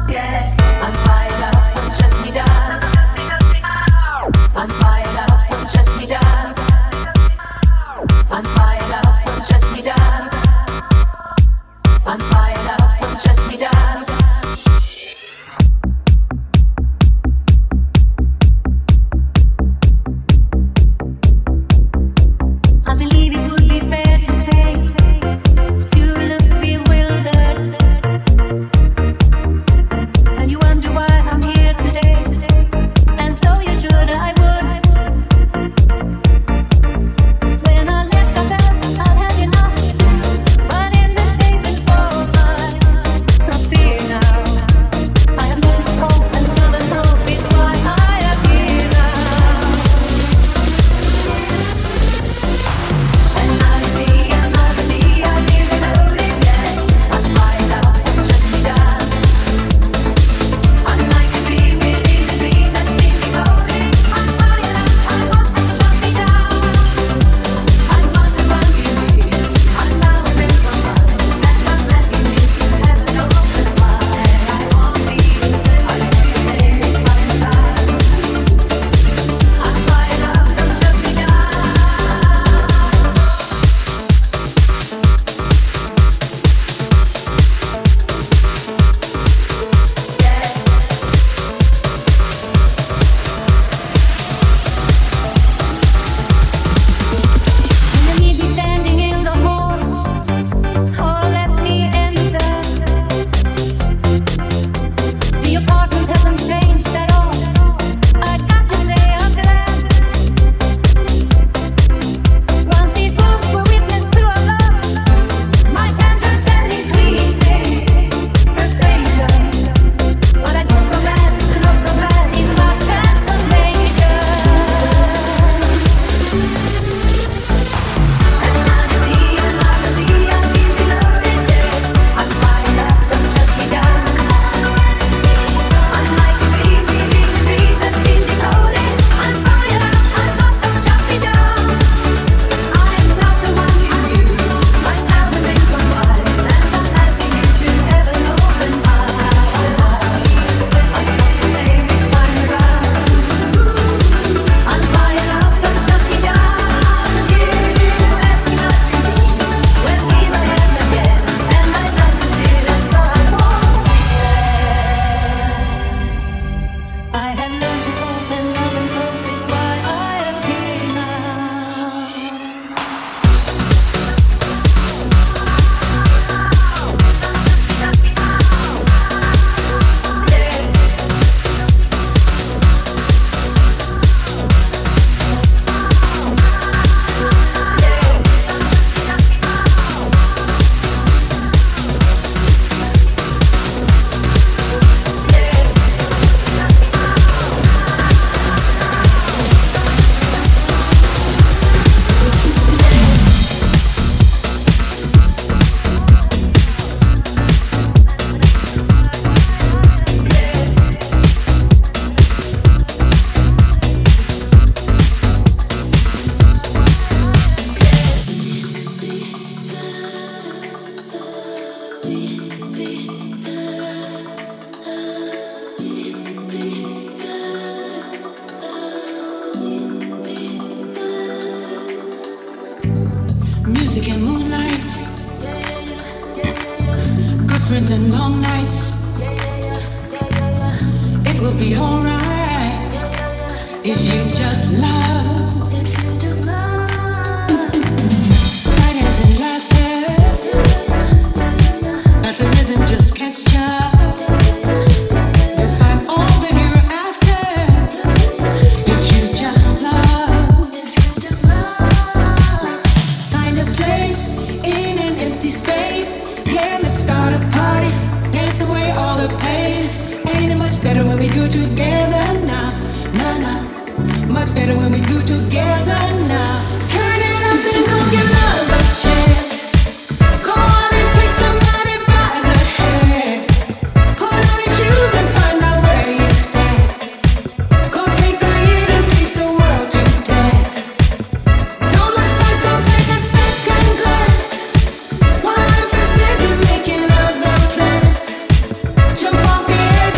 Jump off the edge.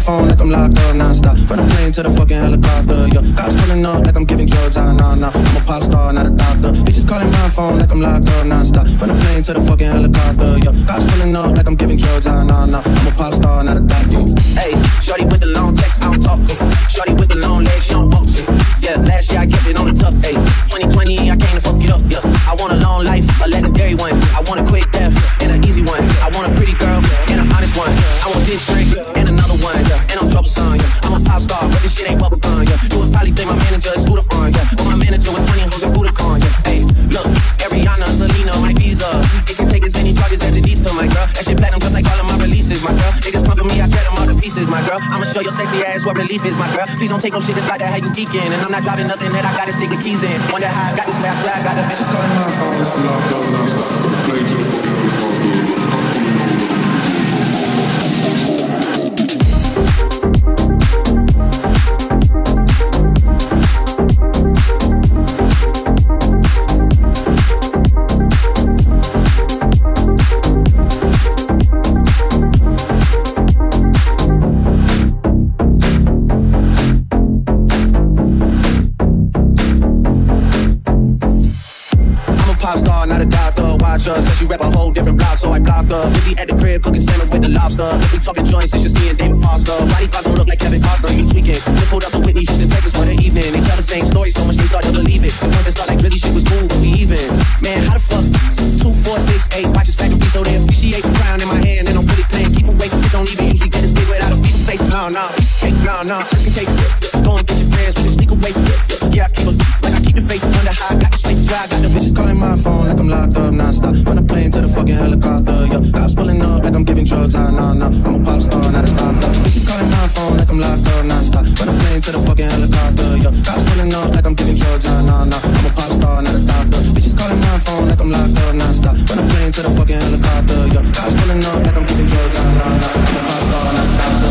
phone like I'm locked up non-stop. From the plane to the fucking helicopter, yo. Cops pulling up like I'm giving drugs, nah. I'm a pop star, not a doctor. Bitches calling my phone like I'm locked up non-stop. From the plane to the fucking helicopter, yo. Cops pulling up like I'm giving drugs, nah. I'm a pop star, not a doctor. Hey, shorty with the long text, I don't talk. Shorty with the long legs, she don't walk. Yeah, last year I kept it on the tuck. Hey, 2020 I came to fuck it up. Yeah, I want a long life, a legendary one. I want a quick death and an easy one. I want a pretty girl and an honest one. I want this drink and another one. Yeah, and I'm troublesome. Yeah, I'm a pop star, but this shit ain't bubblegum. Yeah, you would probably think my manager is Scooter Fun. Yeah, but my manager with 20 hoes and Budokan. Yeah, hey, look, Ariana, Selena, my visa. It can take as many charges as it needs to, my girl. That shit platinum just like all of my releases, my girl. Niggas come for me, I tear them all to pieces, my girl. I'ma show your sexy ass what relief is, my girl. Please don't take no shit that's like that, how you geeking. And I'm not driving nothing that I gotta stick the keys in. Wonder how I got this, I swear I got the bitches calling my phone. I'm locked up non-stop. From the plane to the fucking said she rap a whole different block, so I blocked her. Busy at the crib cooking salmon with the lobster. If we talking joints, it's just me and David Foster. Body parts don't look like Kevin Costner, you tweaking. Just pulled up to Whitney Houston, Texas for the evening. They tell the same story so much they start to believe it. The ones that start like really shit was cool, but we even. Man, how the fuck? 2, 4, 6, 8 watches factory, so they appreciate the crown in my hand. And I'm really playing, keep away from shit, don't even usually get this big without a piece of face. No, cake, no, just in case. Go and get your friends, we just sneak away. Yeah, I keep like I keep the faith under high. Got the straight dry, got the bitches calling my phone like I'm locked up non-stop. From the plane to the fucking helicopter, yo. Cops pulling up like I'm giving drugs, nah. I'm a pop star, not a doctor. Bitches calling my phone like I'm locked up non-stop. From the plane to the fucking helicopter, yo. Cops pulling up like I'm giving drugs, nah. I'm a pop star, not a doctor. Bitches calling my phone like I'm locked up non-stop. From the plane to the fucking helicopter, yo. Cops pulling up like I'm giving drugs, nah. I'm a pop star, not a doctor.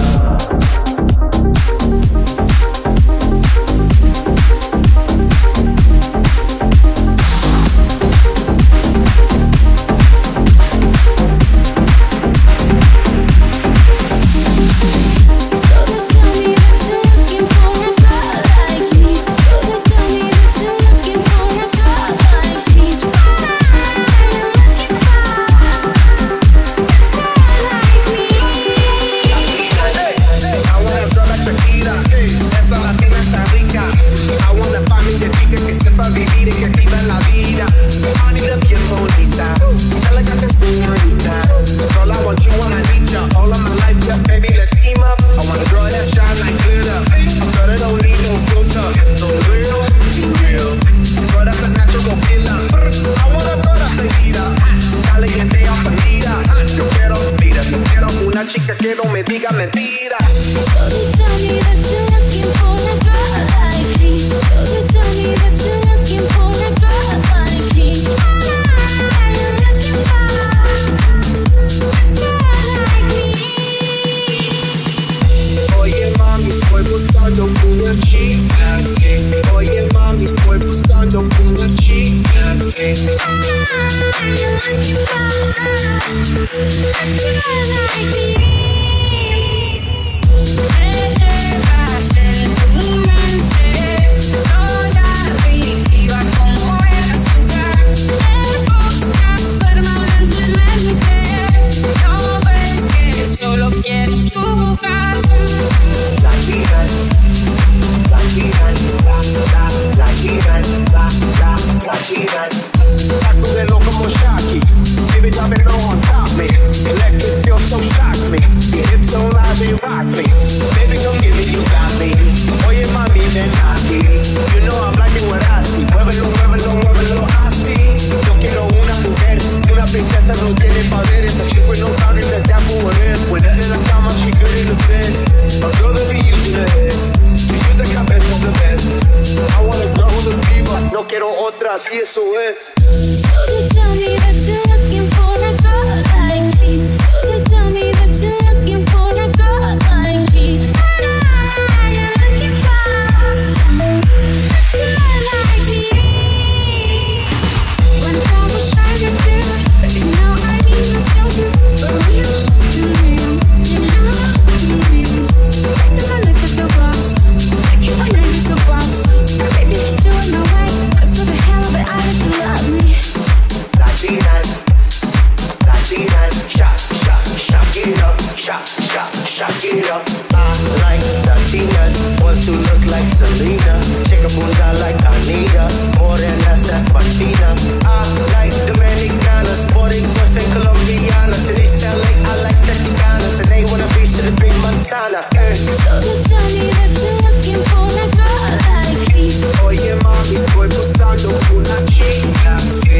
Sacúdelo como Shaki, baby, drop it low on top me. Electric feel so shock me. Your hips so loud they rock me. Baby, come give me, you got me. Oye mami, ven aquí. You know I'm liking what I see. Muévelo, muévelo, muévelo así. Yo quiero una mujer, una princesa no tiene poderes. A chick with no boundaries, that's that for what it is. When in la cama, she good in the bed. A girl that be using the head. She use the cabeza the best. I want a girl with a diva. No quiero otras y eso es. So they tell me that you're looking for a girl like me. So they tell me that you're looking for a girl like me. You're looking for a girl like me. When I was shy, you still, but now I need you. For real, you know, you know. Shock it up. I like Latinas, ones who look like Selena. Shake a bunda like Anita. More than that's Martina. I like Dominicanas, Puerto Ricos and Colombianas. In East LA, I like the Chicanas, and they wanna be to the big Montana. So you tell me that you're looking for a girl like me. Oye mami, estoy buscando una chica, sí.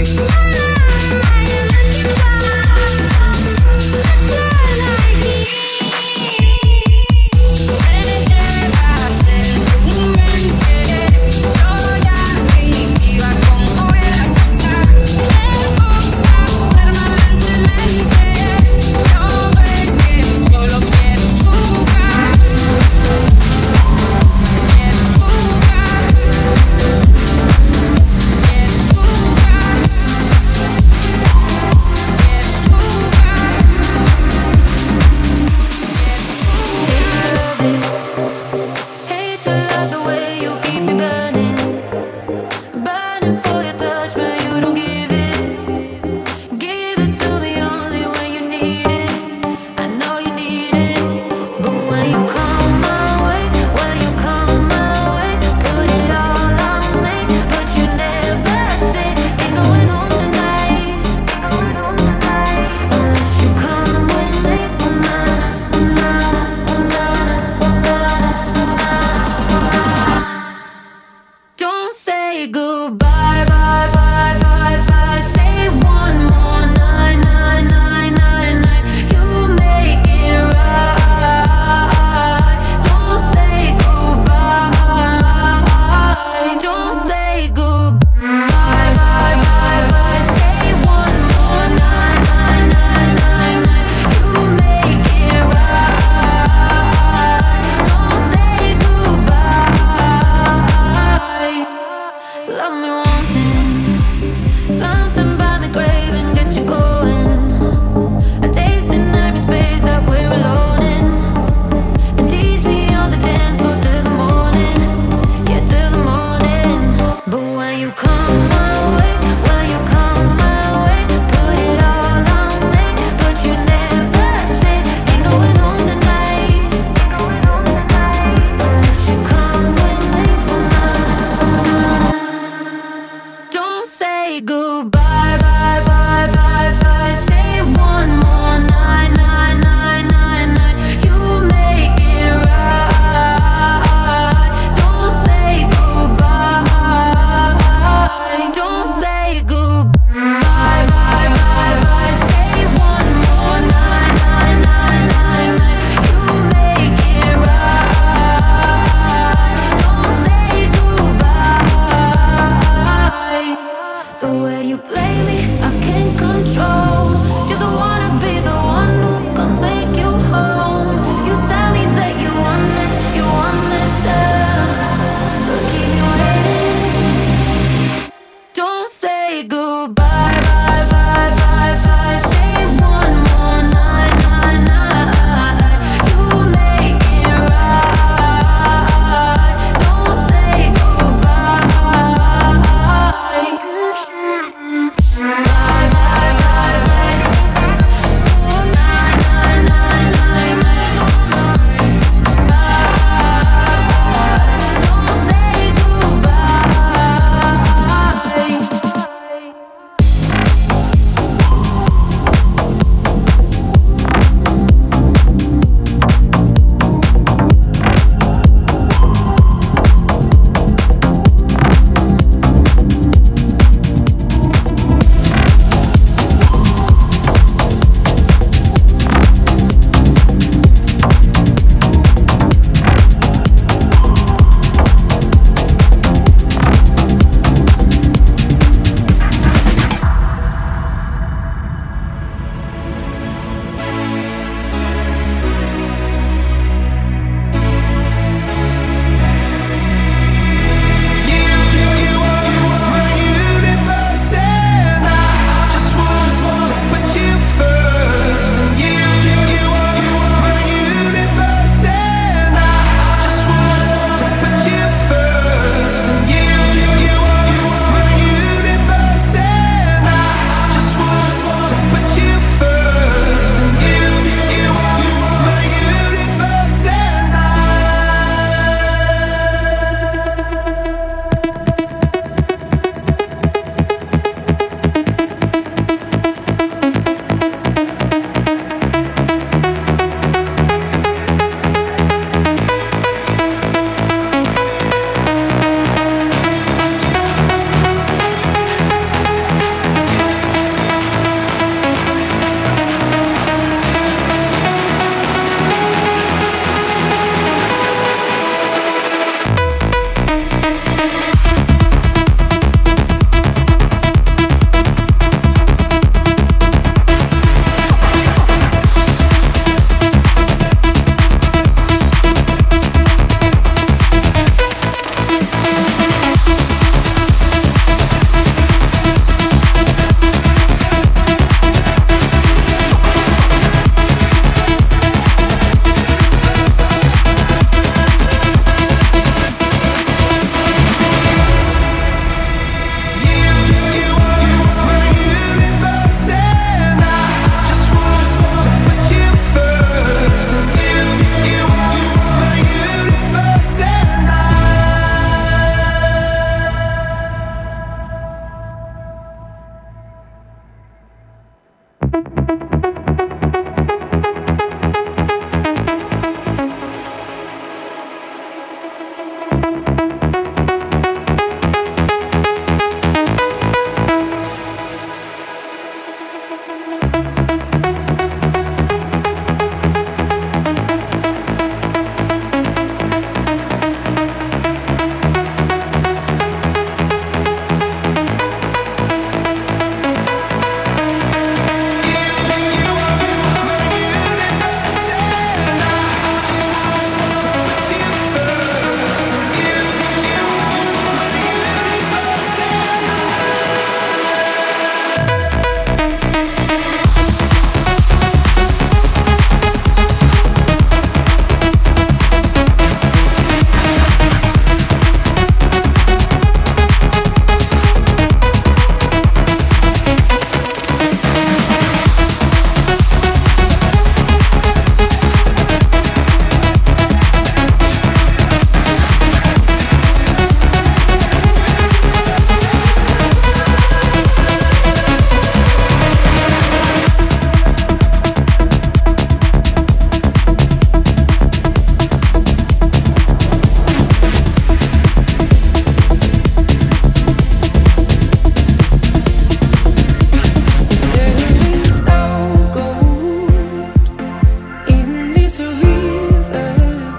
is a river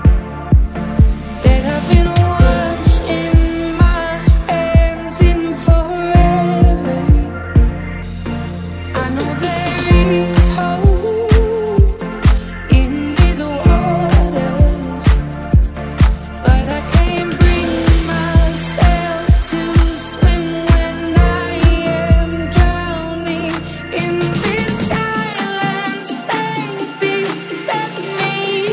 that I've been washing my hands in forever. I know there is hope in these waters, but I can't bring myself to swim when I am drowning in this silence. Baby, let me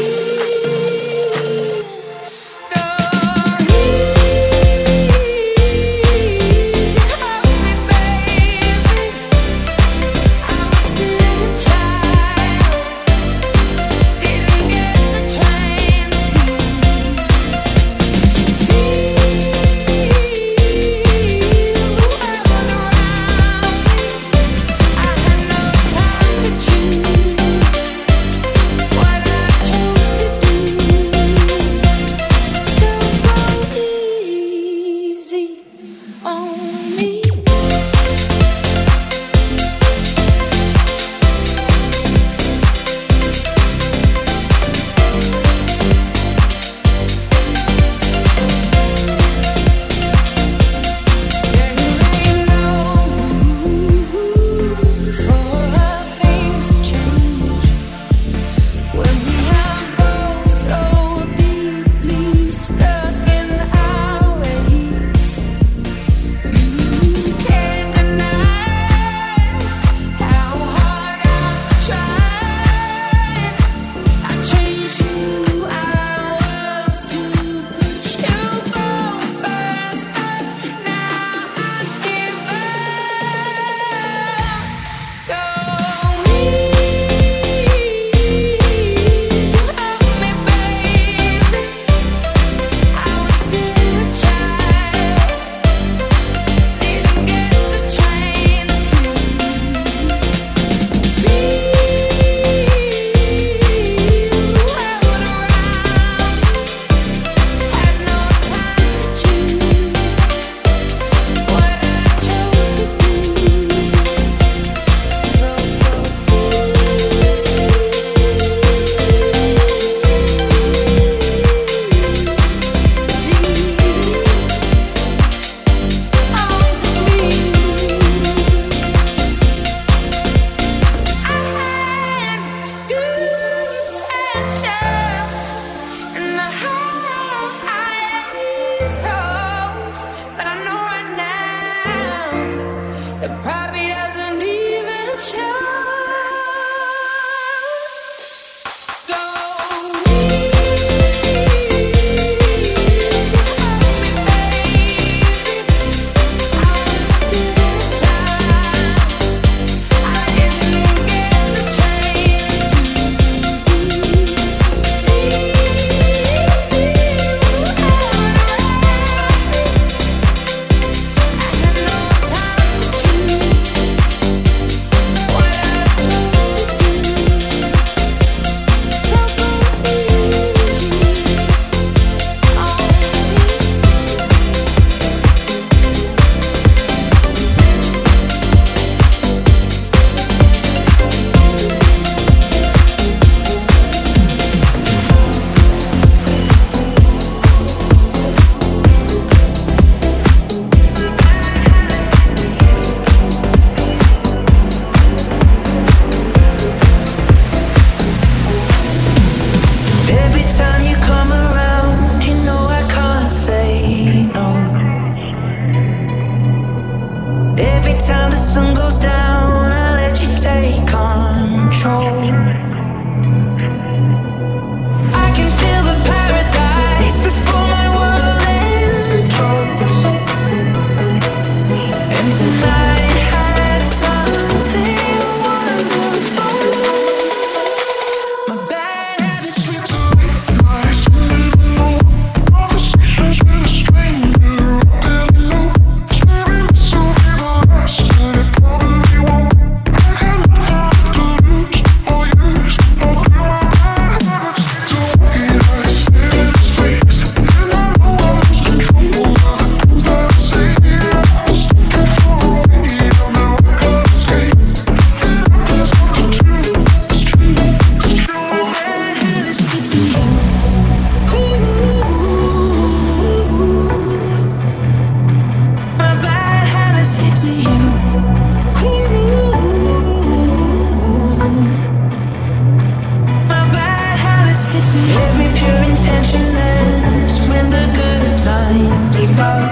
pure intention ends when the good times stop.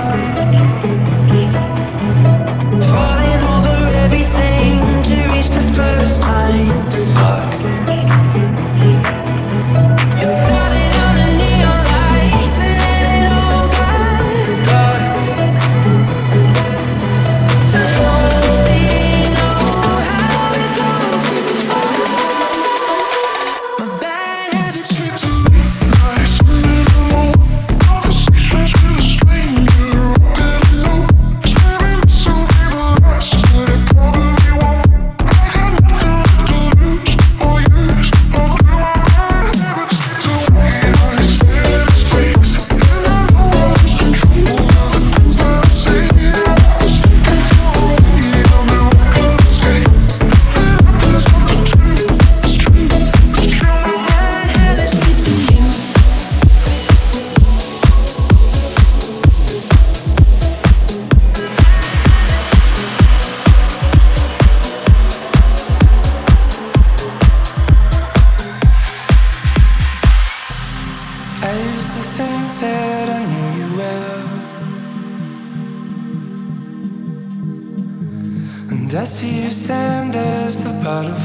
Falling over everything to reach the first time spark. Started on the neon lights and let it all got dark. Only know how it goes before my bad habits. I used to think that I knew you well, and I see you stand as the bottle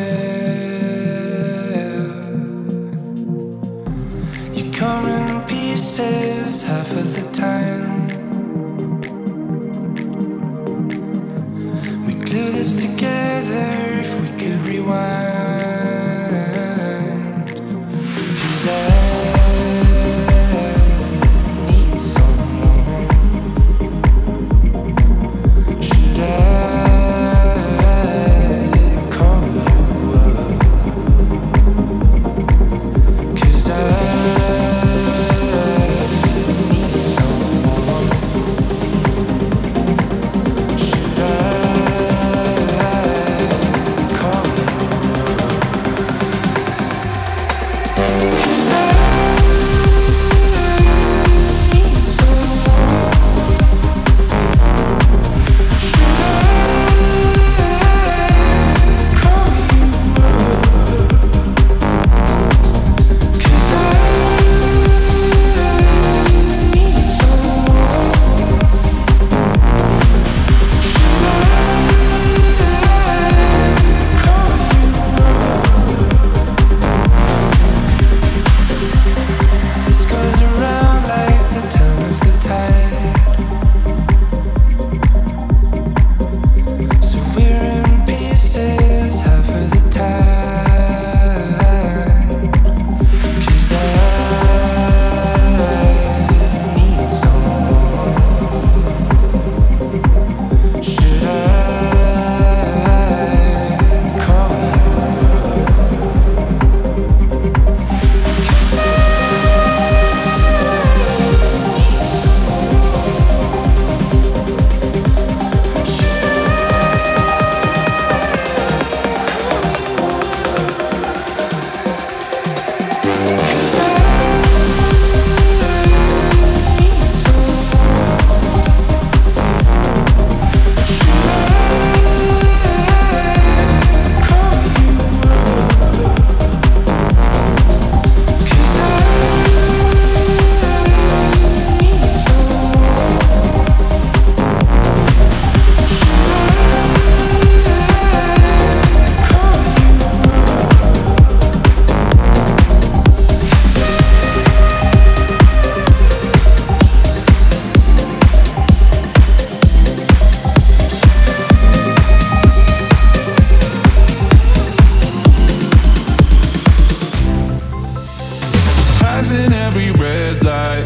fell. You come in pieces half of the time. We glue this together if we could rewind. 'Cause I need someone. Should I call you up? 'Cause I need someone. Should I call you up? 'Cause I need This goes around like the turn of the tide. So we're in pieces half of the time. 'Cause I need someone. Should I call you up? 'Cause I need someone. Should I passing every red light.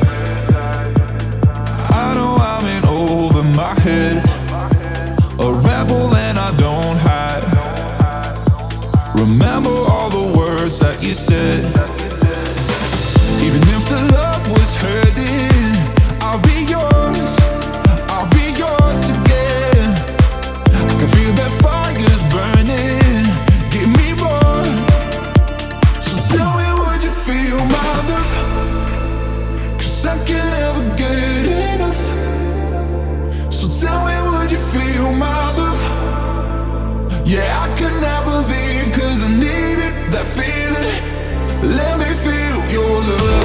I know I'm in over my head, a rebel and I don't hide. Remember all the words that you said. Even if the love was hurting, I'll be yours. I'll be yours again. I can feel that fire's burning. Give me more. So tell me, would you feel my love? 'Cause I can never get enough. So tell me, would you feel my love? Yeah, I could never leave 'cause I needed that feeling. Let me feel your love.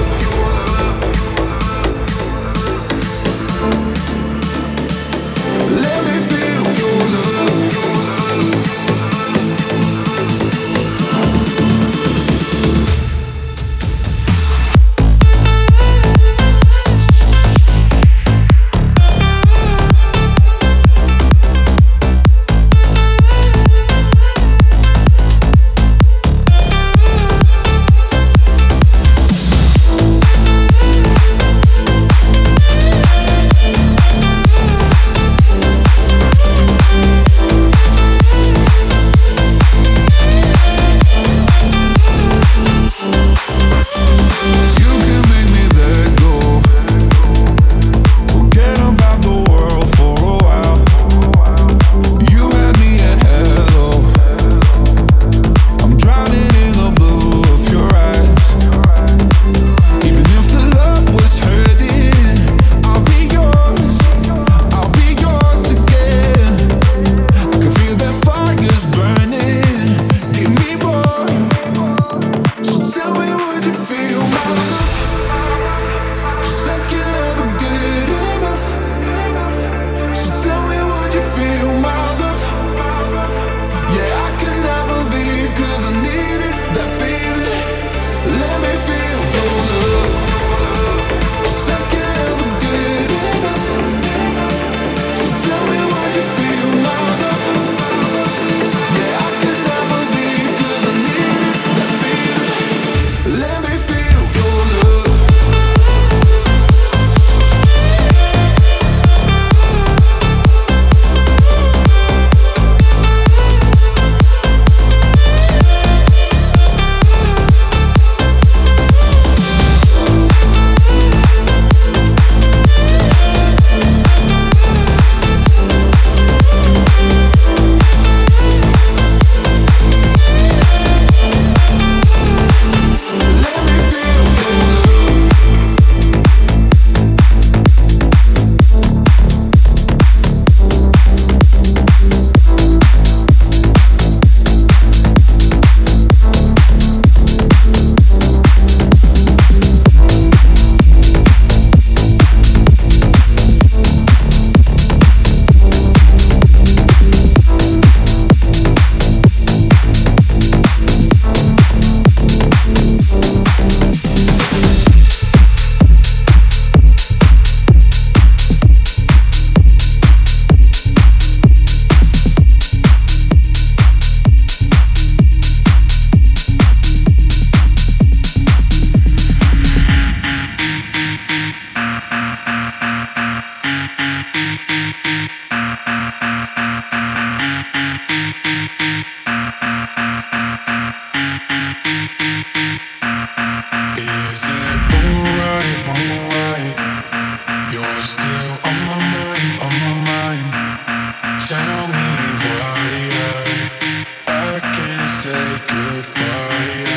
Is it wrong or right? You're still on my mind. Tell me why I can't say goodbye.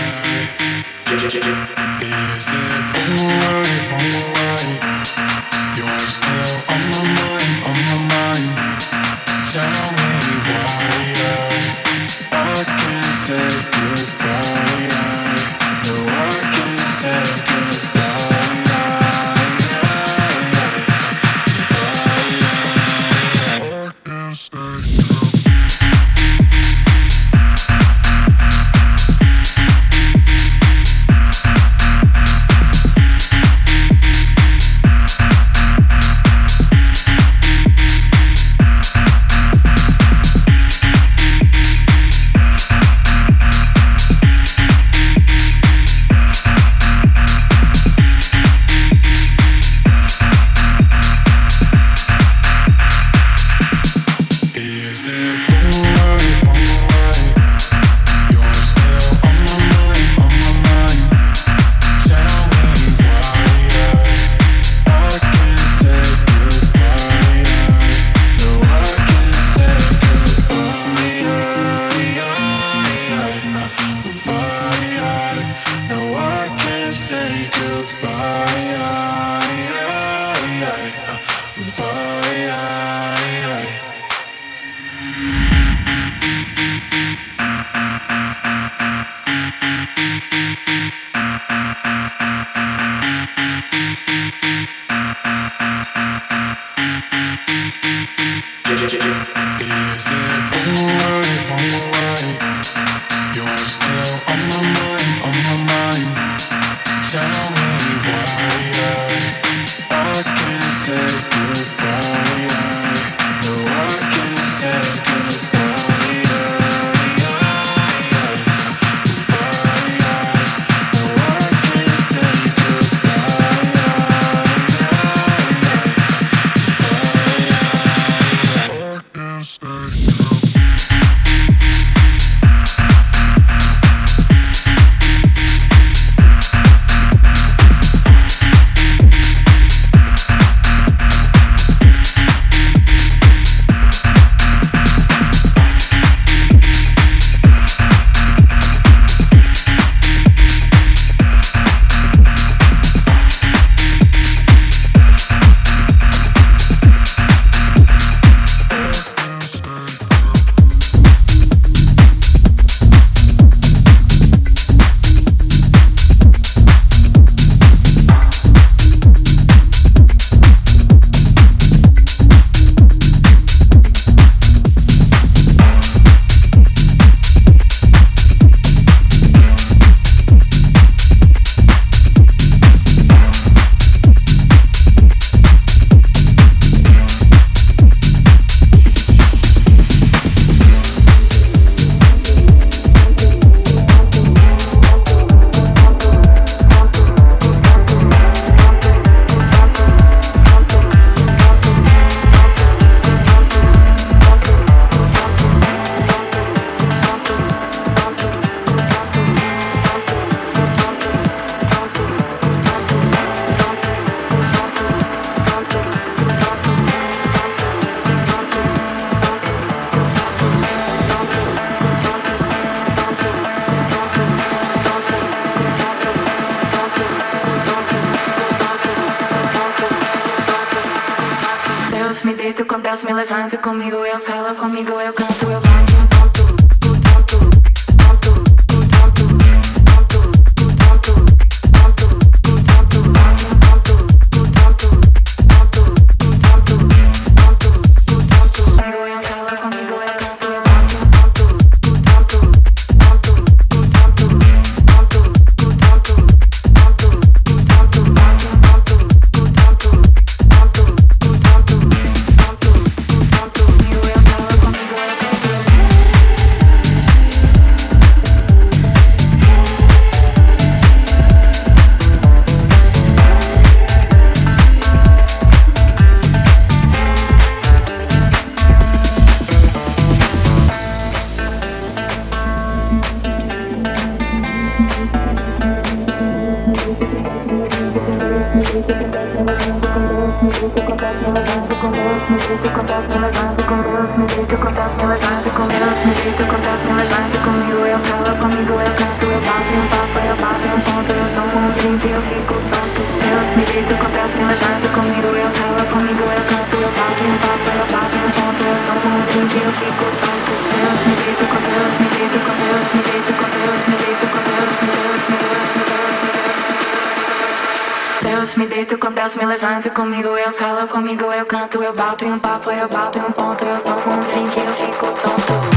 Is it wrong or right? You're still on my mind. Tell me why I can't say goodbye. No, I can't say goodbye. I can't say. Me deito com Deus, me levanto comigo, eu falo comigo, eu canto, eu bato. Comigo eu Deus me deito com Deus me levanto, comigo eu calo, comigo eu canto, eu bato em um papo, eu bato em um ponto, eu tomo um drink, eu fico tonto.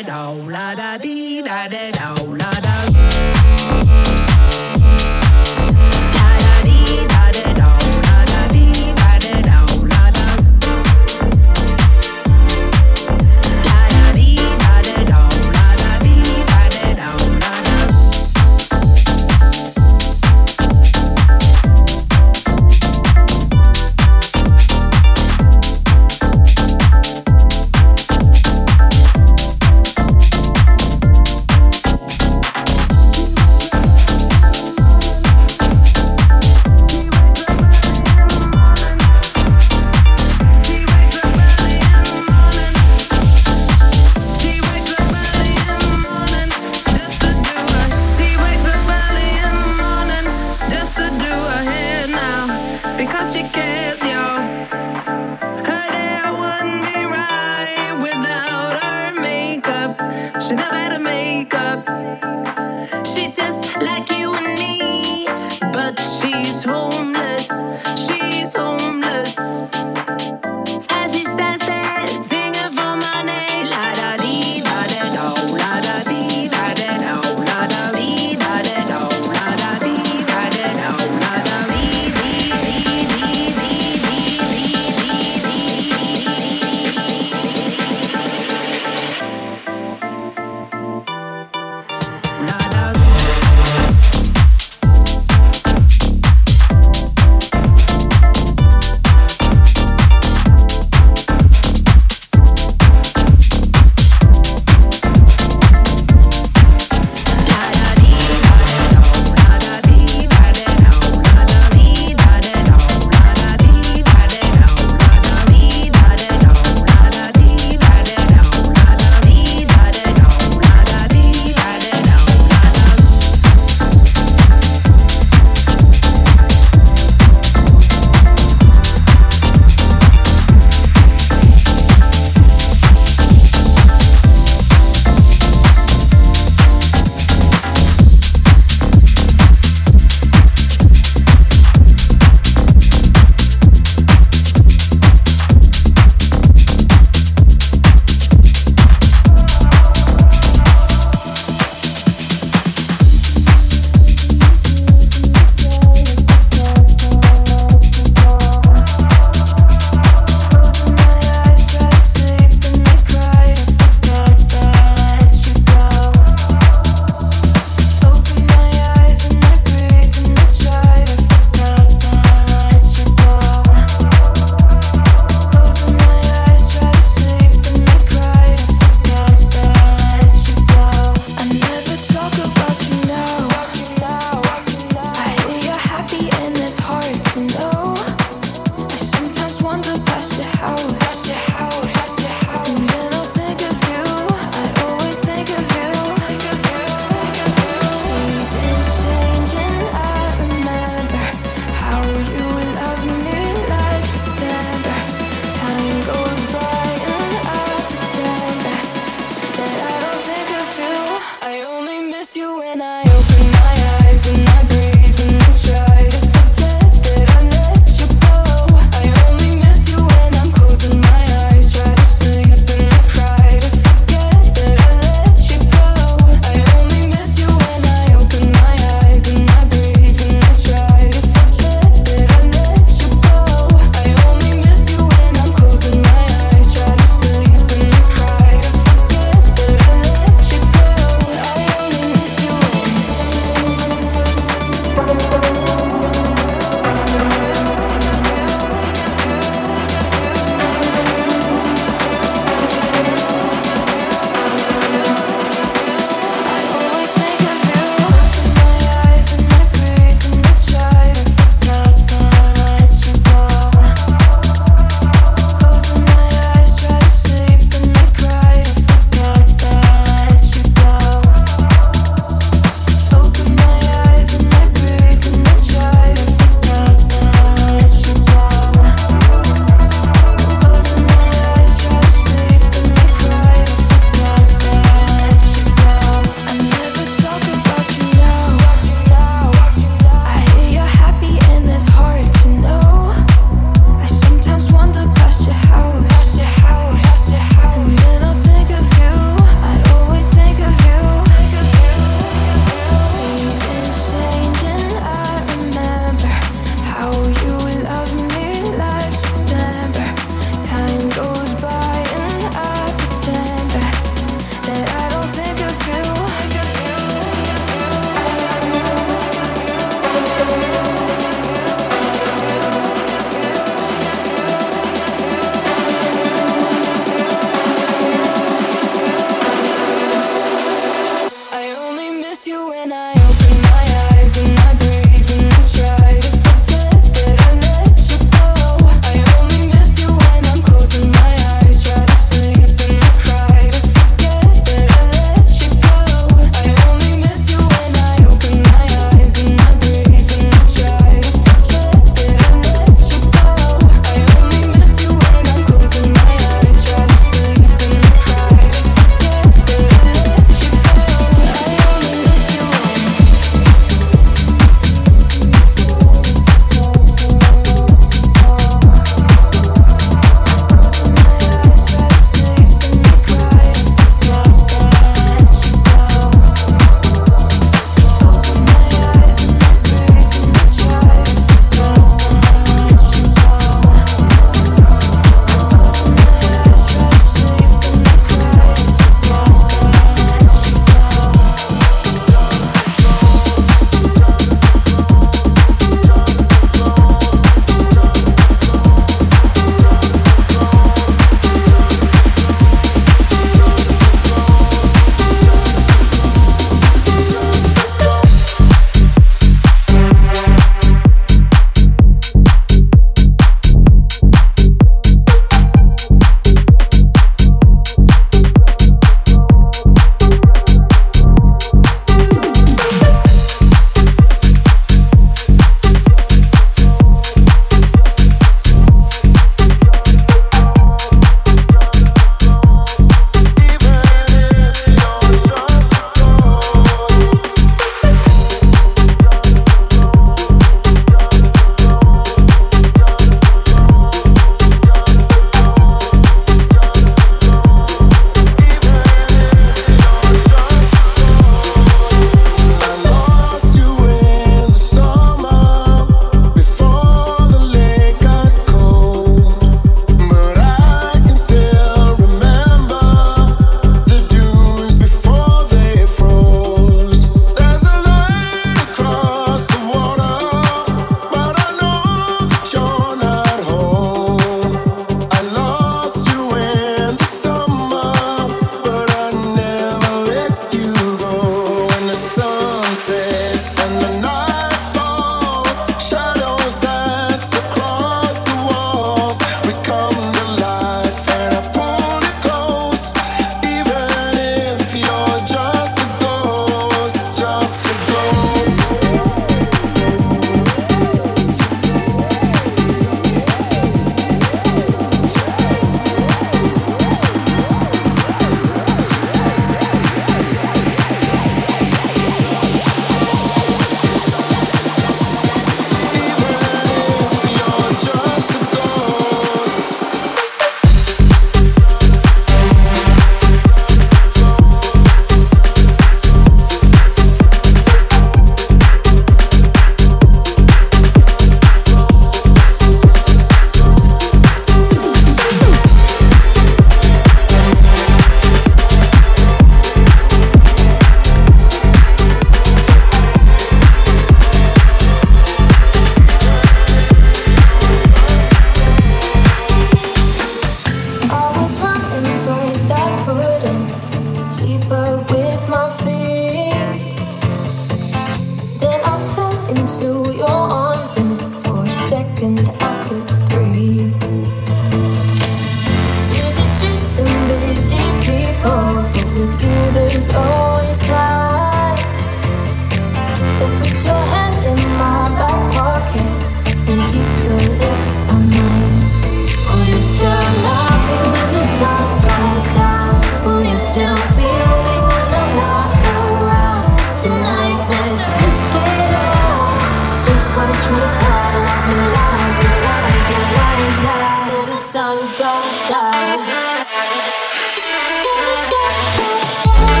There's always time. So put your hand in my back pocket and keep your lips on mine. Will you still love me when the sun goes down? Will you still feel me when I'm not around? Tonight let's risk it all. Just watch me fall like me like it, like it, like that. Till the sun goes down. Till the sun goes down.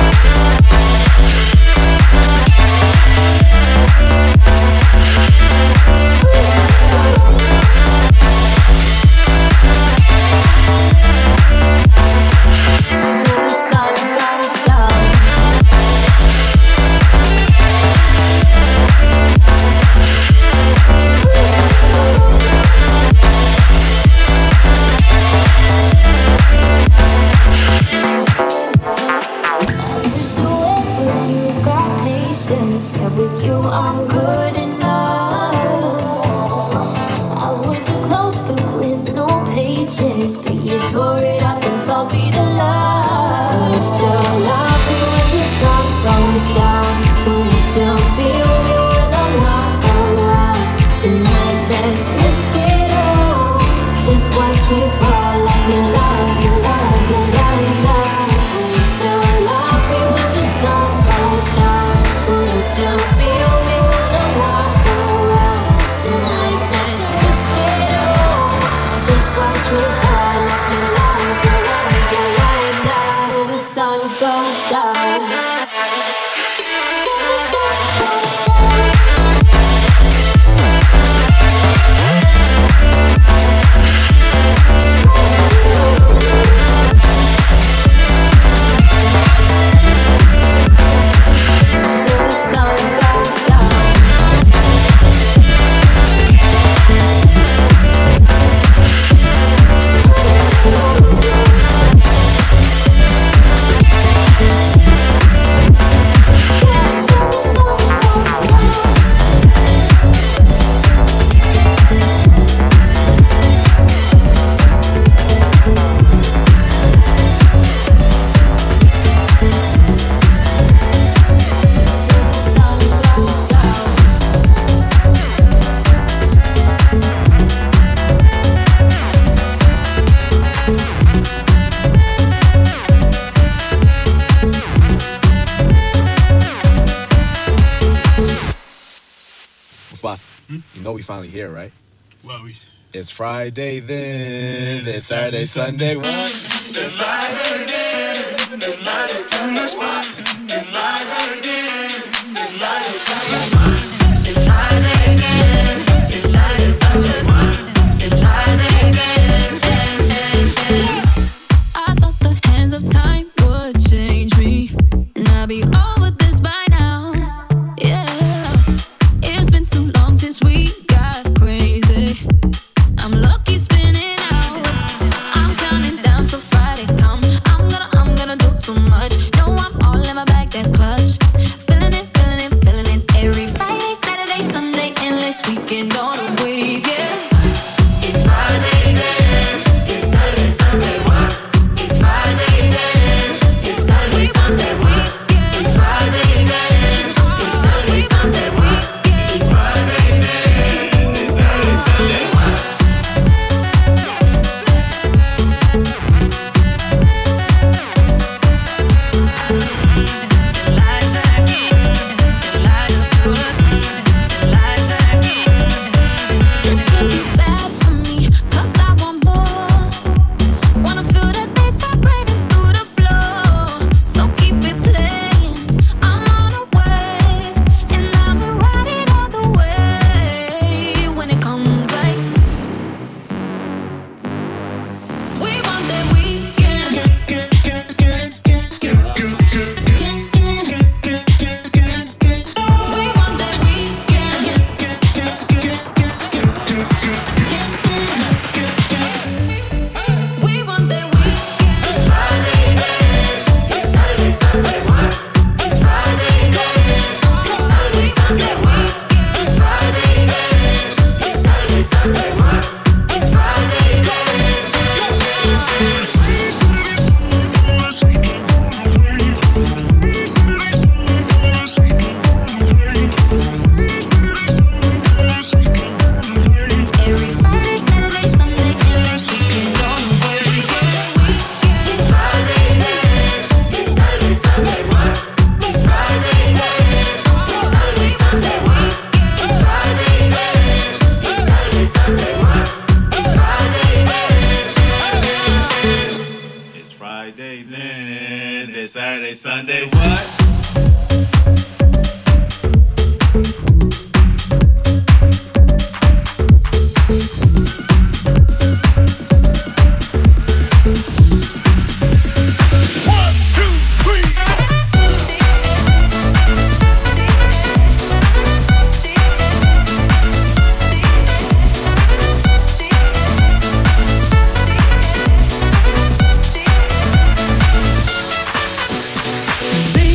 Till the sun goes down. Yeah, with you I'm good enough. I was a close book with no pages, but you tore it up and told me to love. Will you still love me when the sun goes down? Will you still feel me when I'm not around? Tonight let's risk it all. Just watch me fall like me love you, love you, love you, love. Will you still love me when the sun goes down? Will you still feel me when I'm not around? Tonight let's risk it all. Just watch me fall like me like you, like you, like that. Till the sun goes down. Till the sun goes down. Till the sun goes down. Boss, you know we finally here, right? Well, It's Friday then, it's Saturday, Sunday, what? It's Friday again. It's Friday, Sunday. What? It's Friday again. It's Friday, Sunday. It's Friday again. It's Saturday, Sunday. It's Friday again. I thought the hands of time would change me, and I'd be over this by now. Yeah, it's been too long since we got crazy. I'm lucky spinning out. I'm counting down till Friday come. I'm gonna do too much. No, I'm all in my bag, that's clutch. Feeling it, feeling it, feeling it. Every Friday, Saturday, Sunday, endless weekend on a wave, yeah. It's Friday then. It's Saturday, Sunday, what? It's Friday then. It's Saturday, Sunday, what? It's Friday then. It's Saturday, Sunday, what? It's Friday then. It's Saturday, Sunday, what? Elijah. Saturday, Sunday, what? Be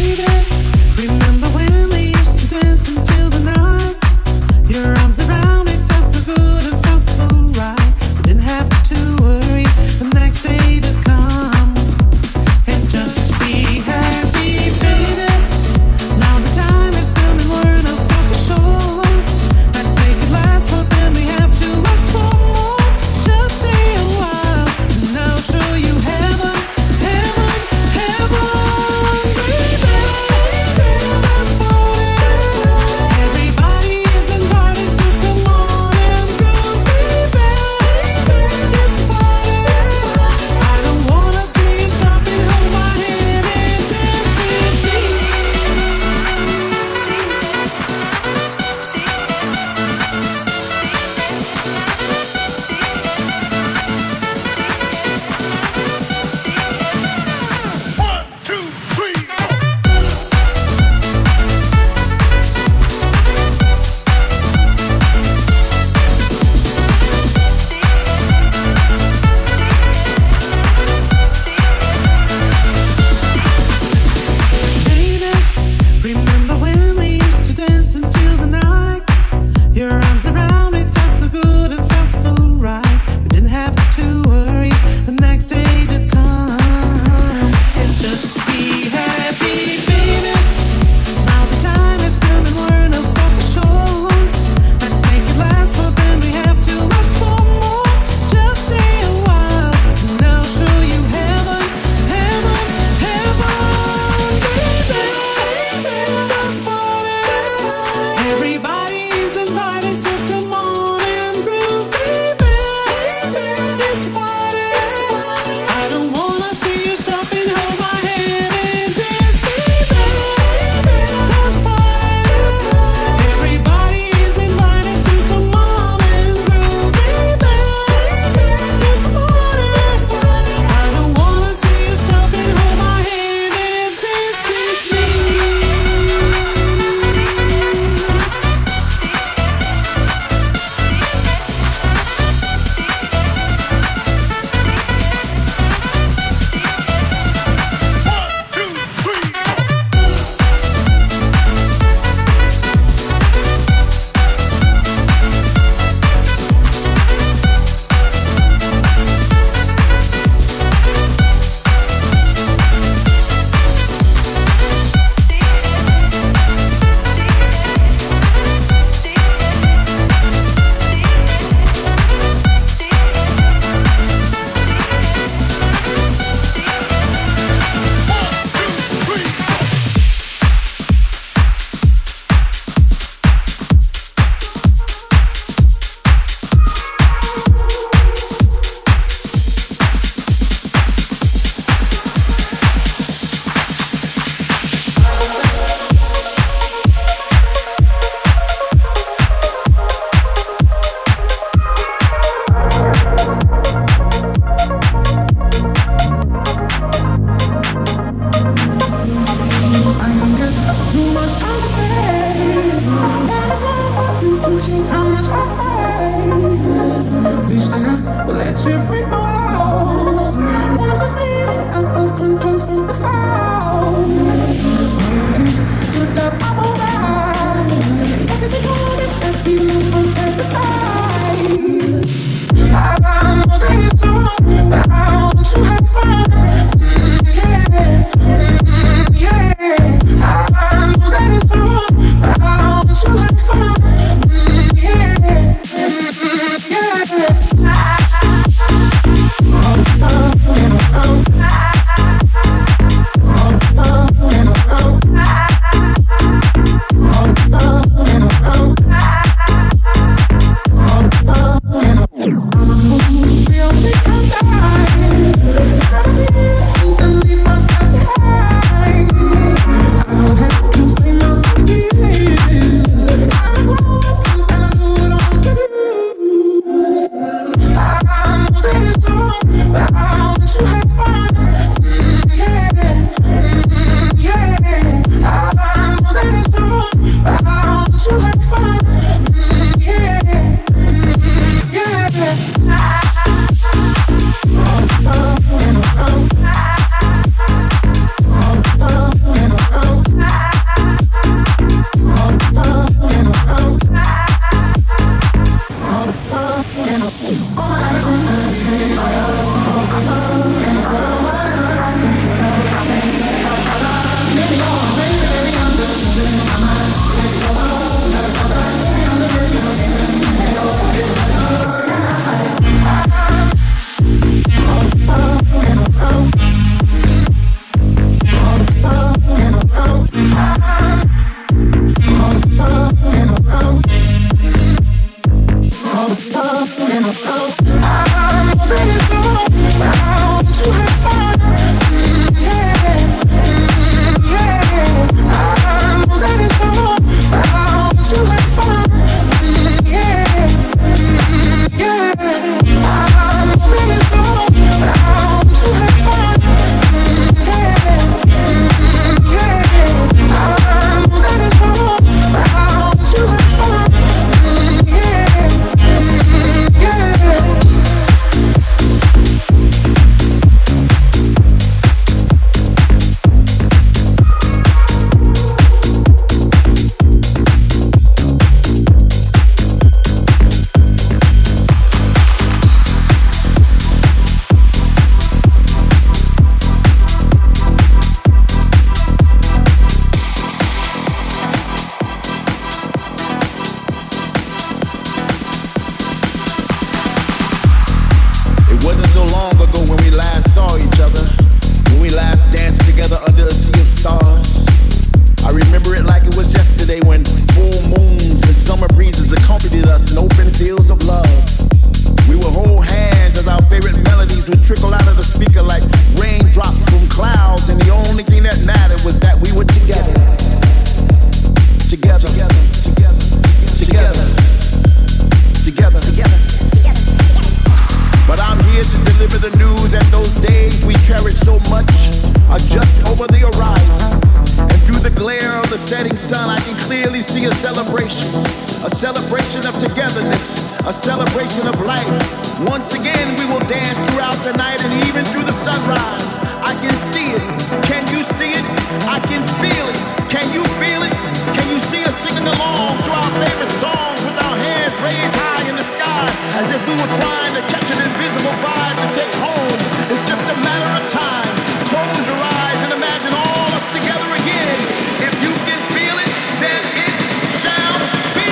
sun, I can clearly see a celebration of togetherness, a celebration of life. Once again, we will dance throughout the night and even through the sunrise. I can see it. Can you see it? I can feel it. Can you feel it? Can you see us singing along to our favorite songs with our hands raised high in the sky as if we were trying to catch an invisible vibe to take home? It's just a matter of time. Close your eyes and imagine all us together again. If you can feel it, then it shall be.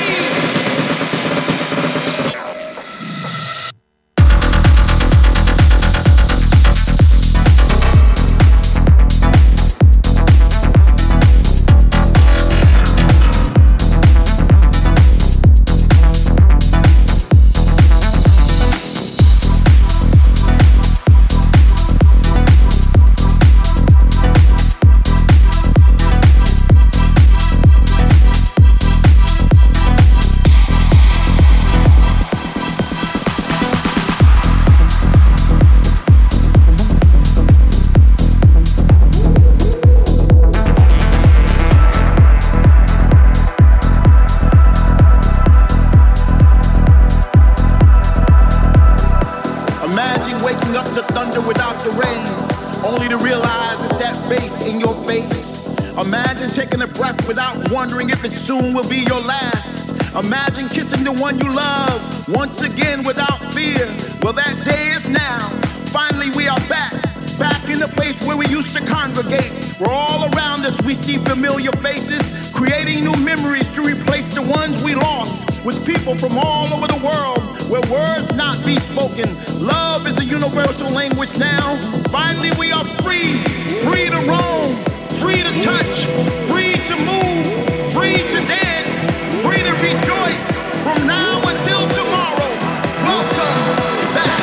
Wondering if it soon will be your last. Imagine kissing the one you love once again without fear. Well, that day is now. Finally, we are back in the place where we used to congregate. Where all around us we see familiar faces, creating new memories to replace the ones we lost. With people from all over the world, where words not be spoken. Love is a universal language now. Finally, we are free to roam, free to touch, free to move, free to dance, free to rejoice from now until tomorrow. Welcome back.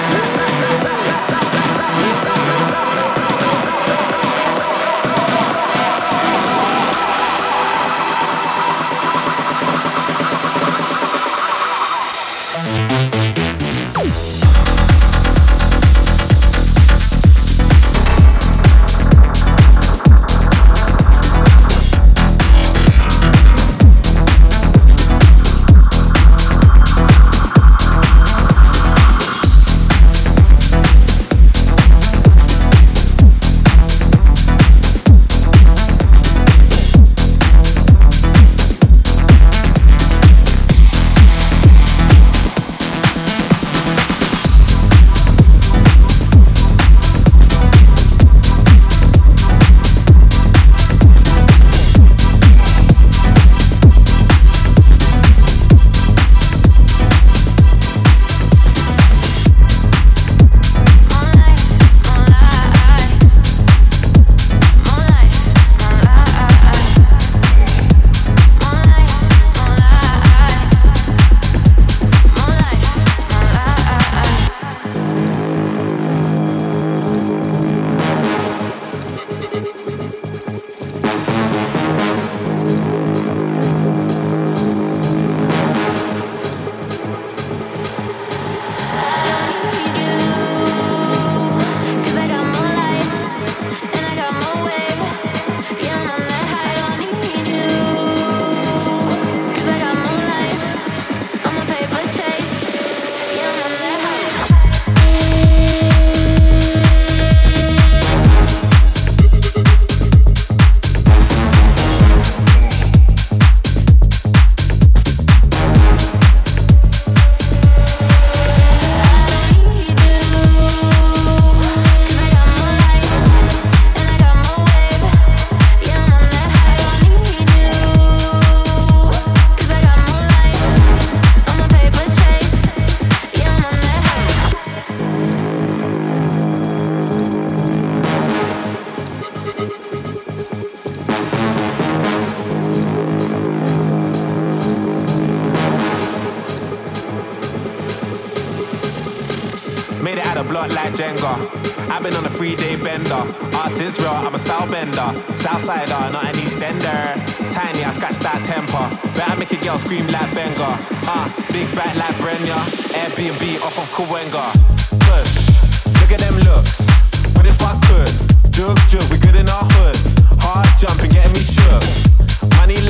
like Jenga. I've been on a 3-day bender. Arse is real, I'm a style bender. Southsider, not an Eastender. Tiny, I scratch that temper. Better make a girl scream like Benga. Big back like Brenya. Airbnb off of Kawenga. Push, look at them looks. What if I could? Jug, we good in our hood. Hard jumping, getting me shook. Money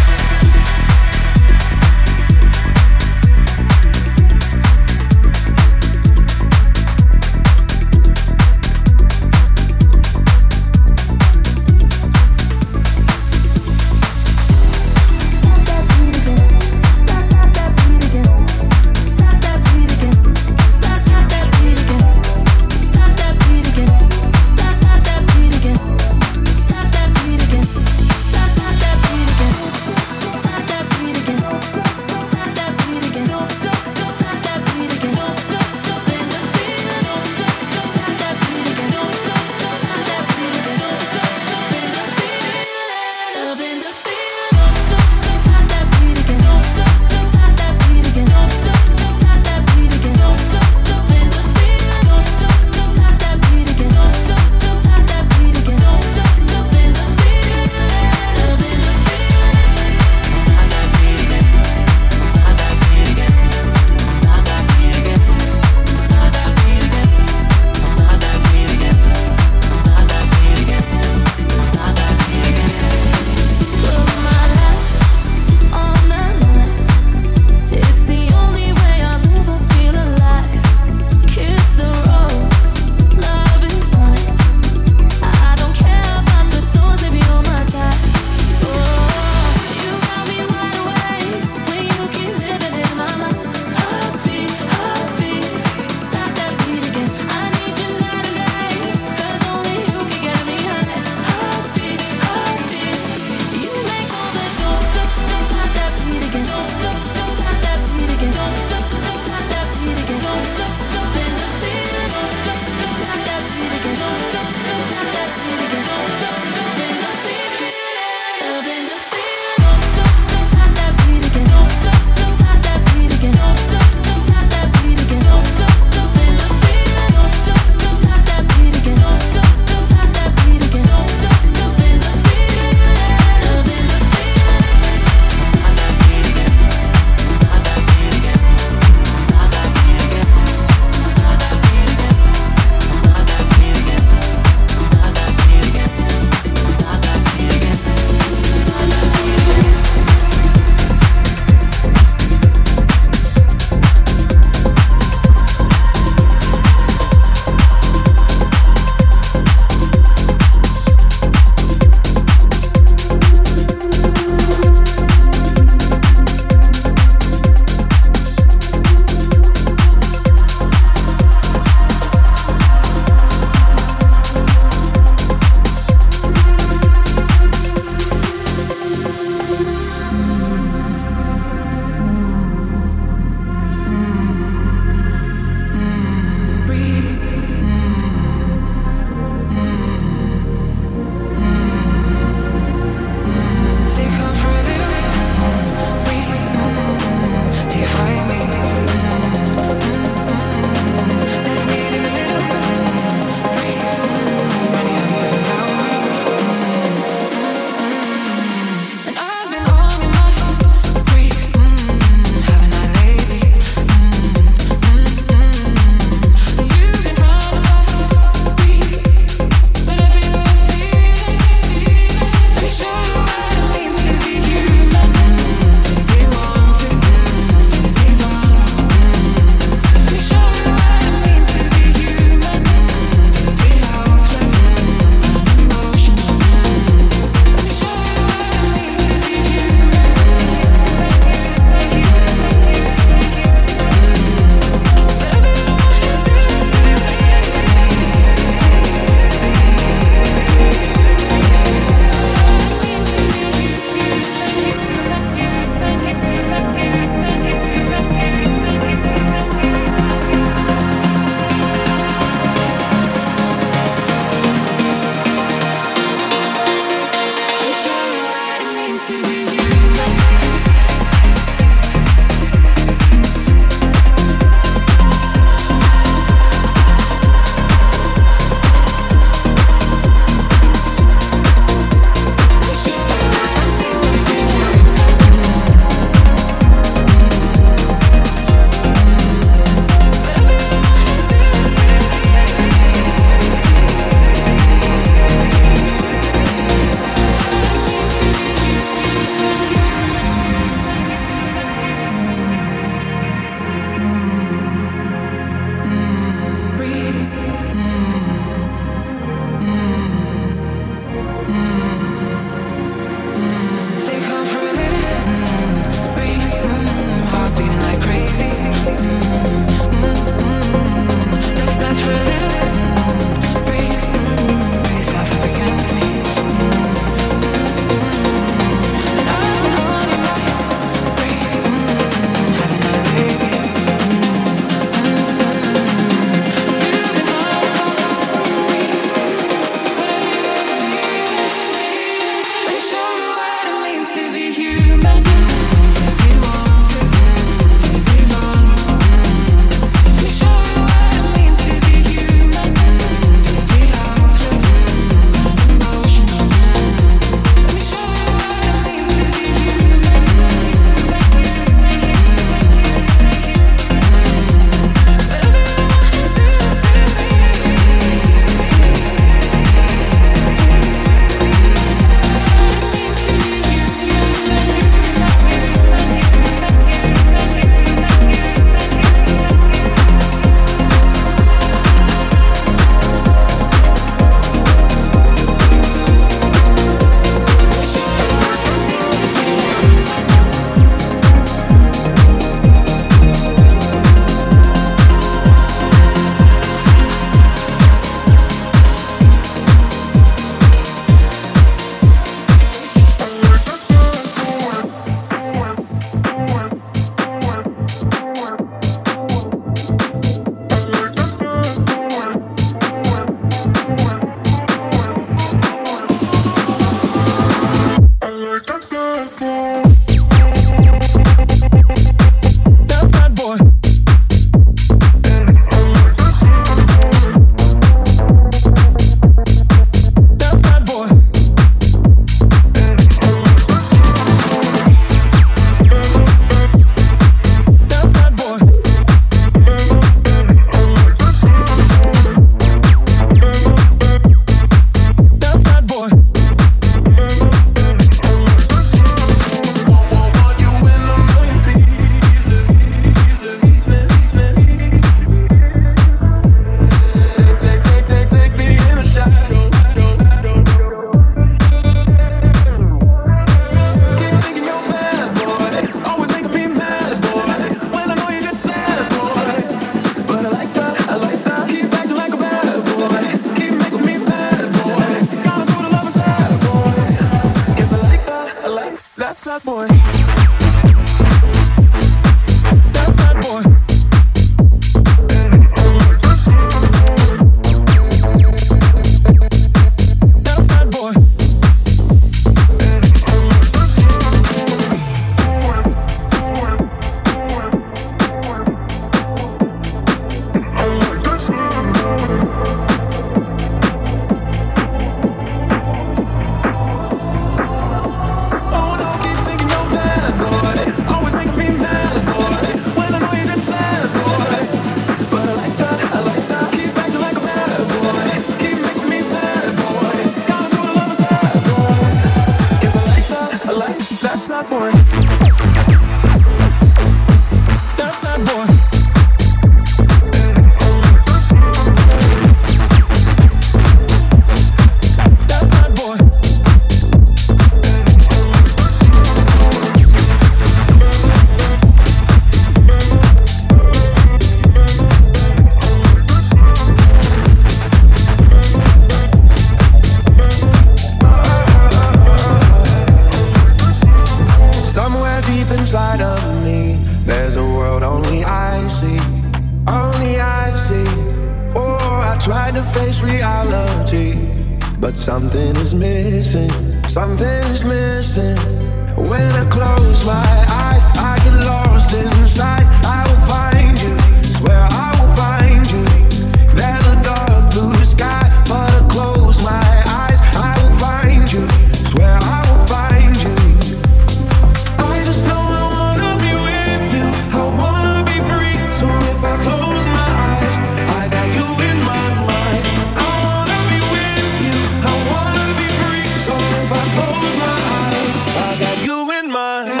trying to face reality, but something is missing. Something is missing. When I close my eyes, I get lost inside. I will find you, swear I will find you. There's a dark blue sky, but I close my eyes, I will find you, swear I will find you. I just know I wanna be with you, I wanna be free. So if I close my eyes, I got you in my mind. I wanna be with you, I wanna be free. So if I close my eyes, I got you in my mind.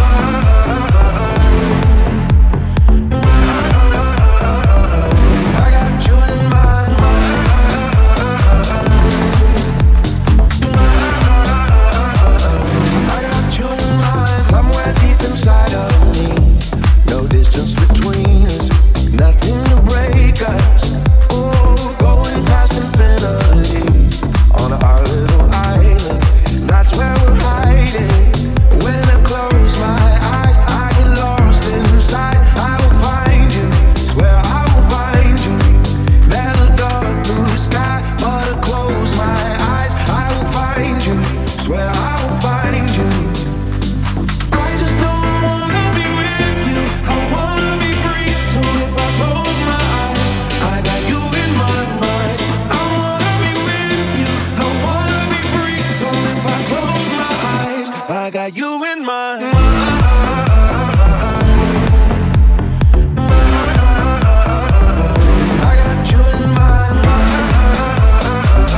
I got you in my mind. I got you in mind. Somewhere deep inside of me, no distance between us, nothing to break us. Oh, going past infinity on our little island. That's where we're hiding. When I close my eyes, I get lost inside. I will find you, swear I will find you. There's a dark blue sky, but I close my eyes, I will find you, swear I will find you. I just know I wanna be with you, I wanna be free. So if I close my eyes, I got you in my mind. I wanna be with you, I wanna be free. So if I close my eyes, I got you in my mind. I got you in my mind.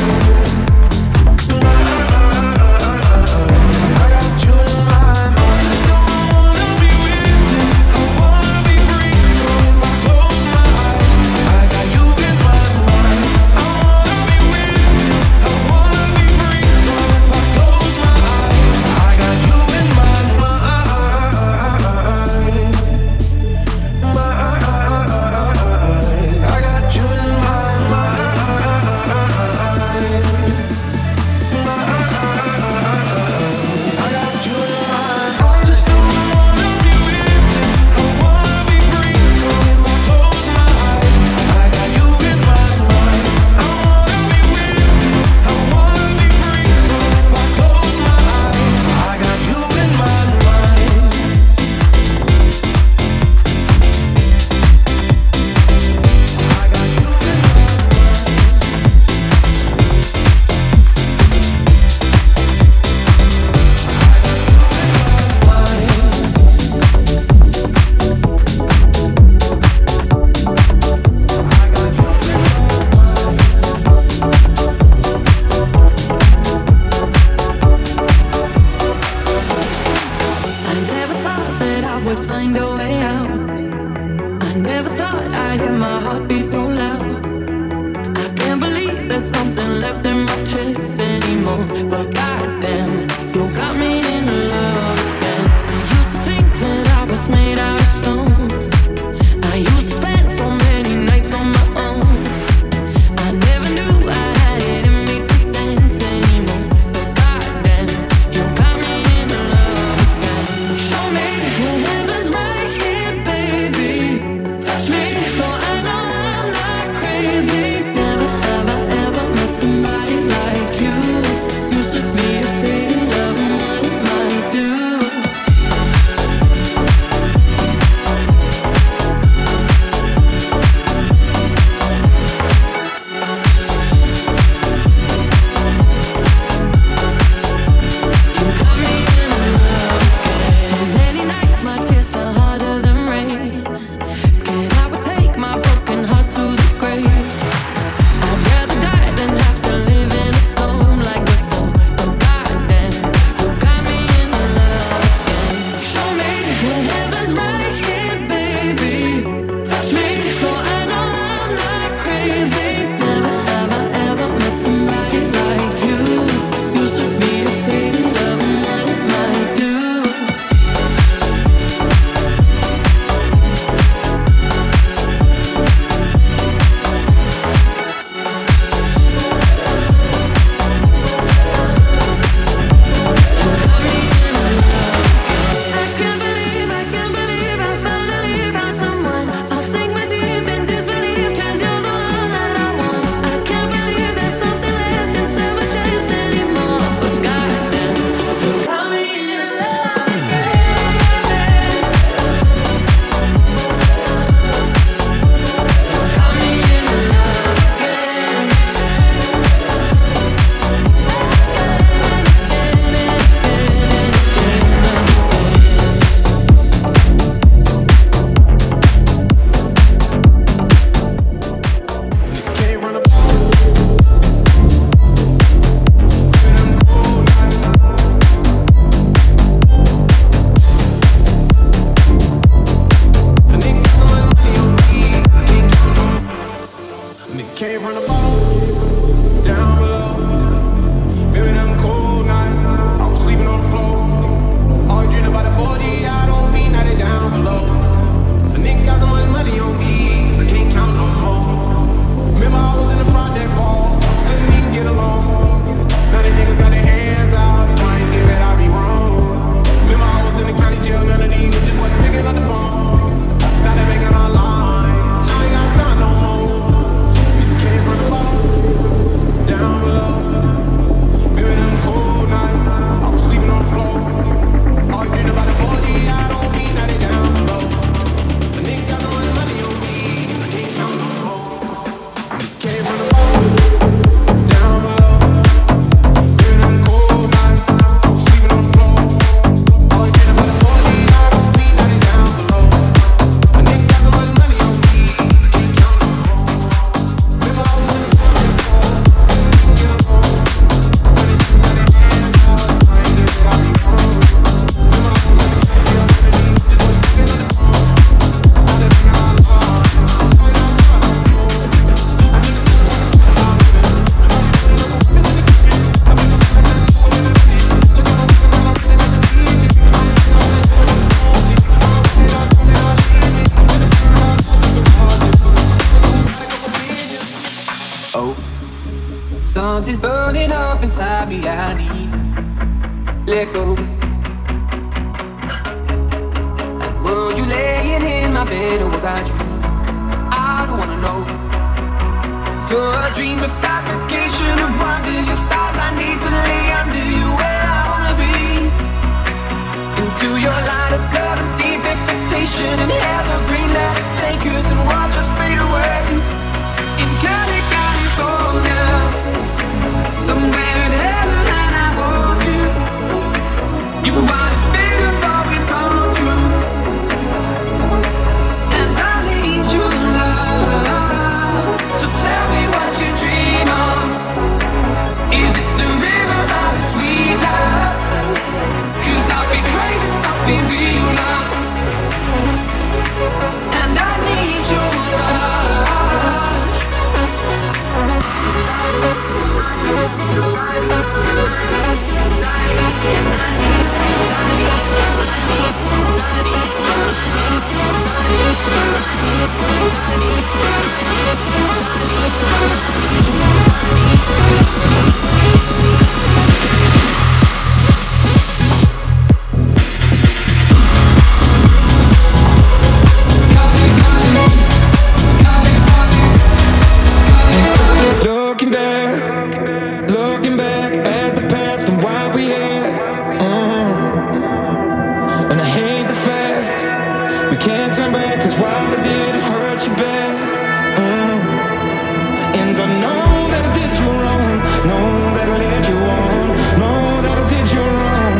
I got you in my mind. Just know I wanna be with you, I wanna be free. So if I close my eyes, I got you in my mind. I wanna be with you, I wanna be free. So if I close my eyes, I got you in my mind. I got you in my mind. I got you in mind. I just know I wanna be with you, I wanna be free. So if I close my eyes, I got you in my mind. I wanna be with you, I wanna be free. So if I close my eyes, I got you in my mind. I got you in my I never thought that I would find a way out. I never thought I'd hear my heartbeat so loud. I can't believe there's something left in my chest anymore. But goddamn, you got me in love again. I used to think that I was made out of stone. I used to spend so many nights on my own. I never knew I had it in me to dance anymore. But goddamn, you got me in love again. Show me that heaven's right here, baby. Touch me so I know I'm not crazy. Never have I ever met somebody like you. Used to be afraid Came from the bottom, down below. Maybe them cold nights, I was sleeping on the floor. All dreaming about the 40, I don't feel now they down below. A nigga got so much money on me, I can't count no more. Remember I was in the project ball, couldn't even get along. Now the niggas got their hands out, trying to give it, I be wrong. Remember I was in the county jail, none of these just wasn't picking up the phone. Now they making our line, now they got time no more. Came from the bottom, down below. Maybe them cold nights, I was sleeping on the floor. All you dream about the 4G, I don't feel now they down below. A nigga got so much money on me, I can't count no more. Came from the bottom, down below. Maybe them cold nights, I was sleeping on the floor. All you dream about the 4G, I don't feel now they down below. A nigga got so much money on me, I can't count no more. Remember I was in the project ball, couldn't get along. Now they just got their hands out, trying to get it, I be wrong. Remember I was in the jail, none of these just wasn't picking up the phone. Now they making our line, now they got time no more. I need to know what I'm living. I'm in the kitchen, I make myself like I'm going in the pit. Look at my looking like I'm feeling like a DJ. I'm looking all that good and salty. I'm looking out, looking out, easy. I'm gonna turn around, look at the party. Oh, something's burning up inside me. I need to let go. And were you laying in my bed or was I dreaming? I don't wanna know. So a dream of fabrication of wonders, your stars. I need to lay under you where I wanna be. Into your light of love and deep expectation and evergreen. Let it take us and watch us fade away. In Cali, California, somewhere in heaven, and I want you. Your wildest visions always come true, and I need your love. So tell me what you dream of. Is it the river of a sweet love? 'Cause I've been craving something real now, and I need your touch. Looking back at the past and what we had. And I hate the fact we can't turn back, 'cause what I did hurt you bad. And I know that I did you wrong, know that I led you on, know that I did you wrong.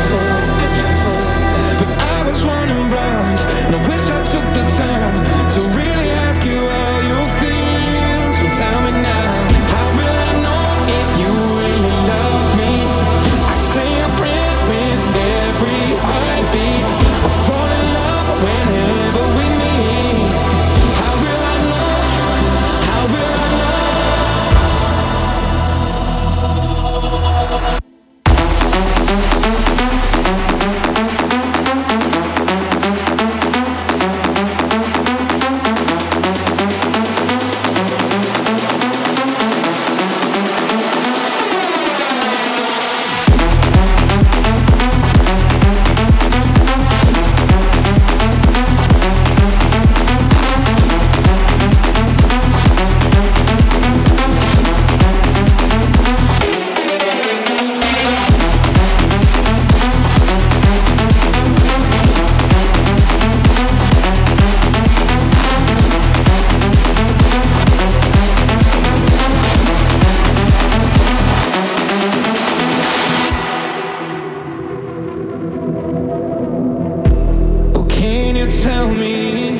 But I was running blind, and I wish I took the time to really ask you how you feel. So tell me now, how will I know if you really love me? I say a prayer with every heartbeat. I fall in love whenever we meet. How will I know? How will I know? Tell me,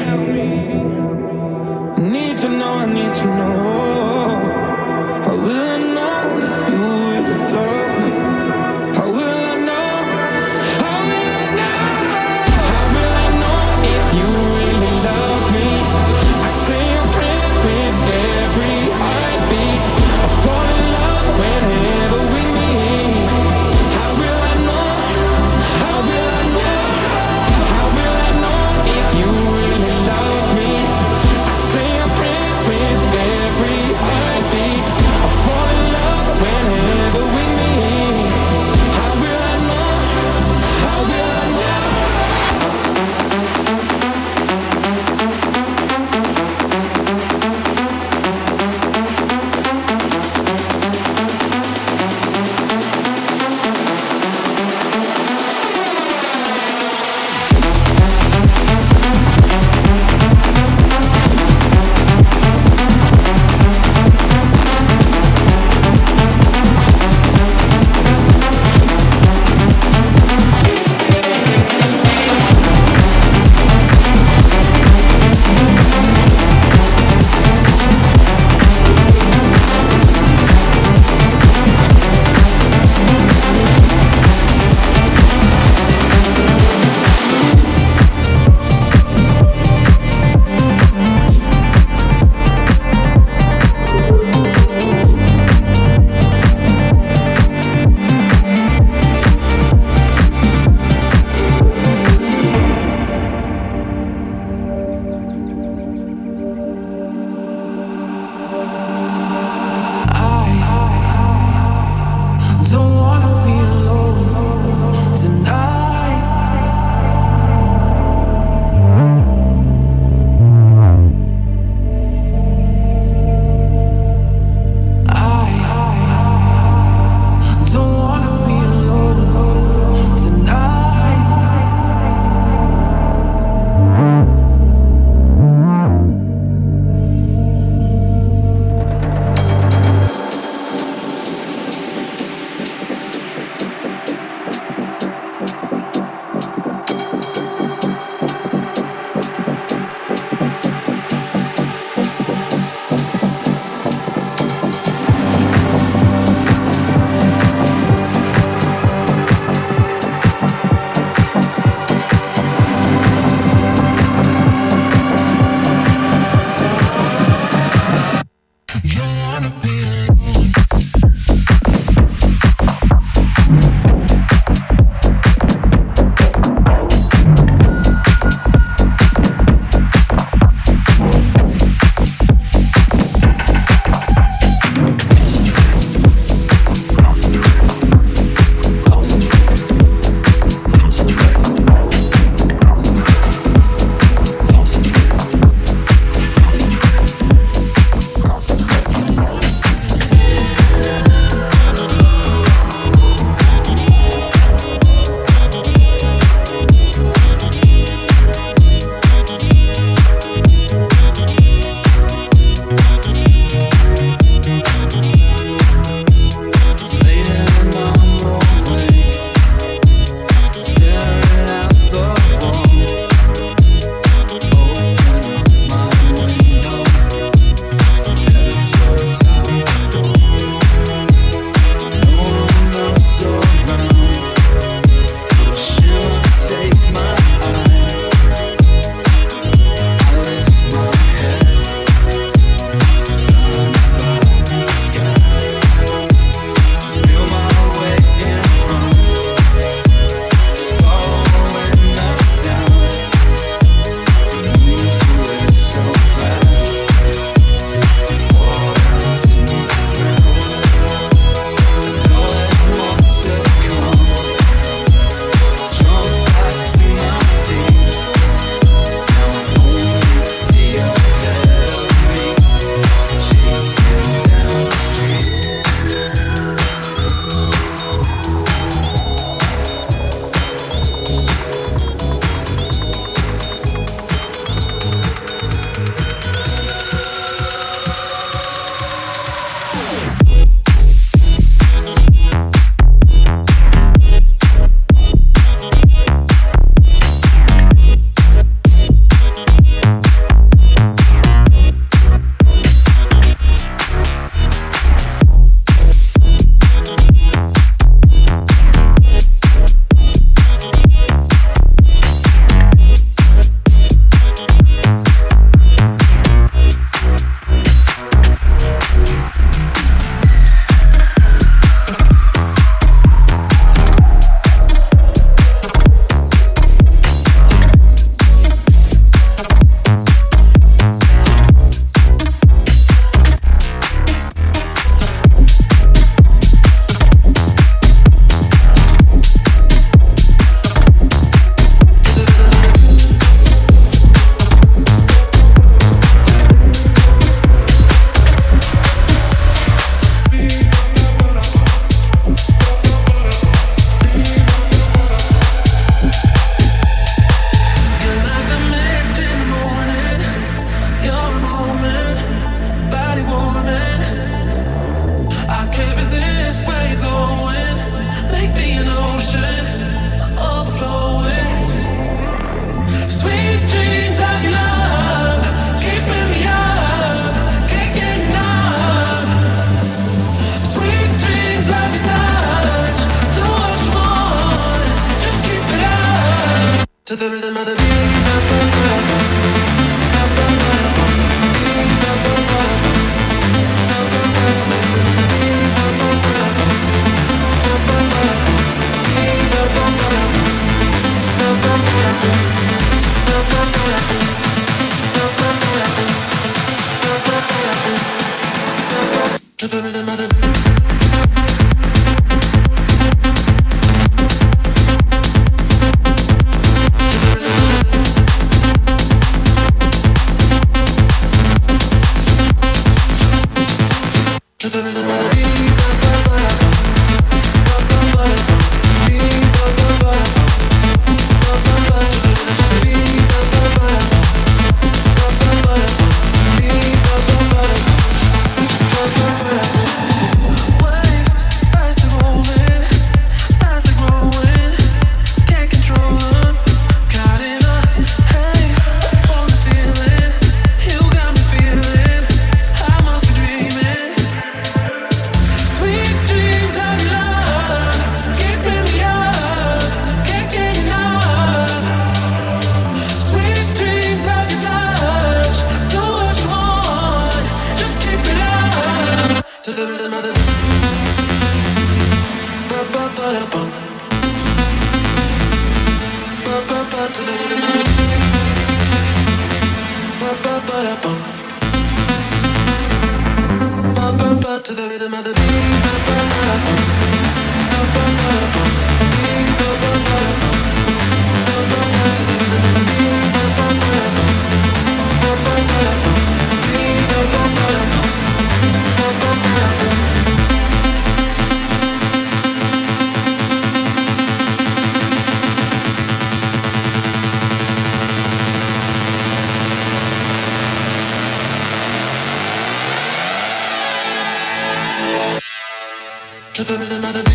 I need to know, I need to know. How will I know if you really love me? How will I know? How will I know? How will I know if you really love me? I say a prayer with every heart. the rhythm of the ba-ba-ba-da-bum. Ba-ba-ba to the rhythm of the ba-ba-ba-da-bum. Ba-ba-ba to the rhythm of the ba-ba-ba-da-bum. Ba-ba-ba-da-bum. Ba-ba-ba-da-bum. Ba-ba-ba to the rhythm of the ba-ba-ba-da-bum. Ba-ba-ba-da-bum. Ba-ba-ba-da-bum. Ba-ba-ba-da-bum. To the rhythm of the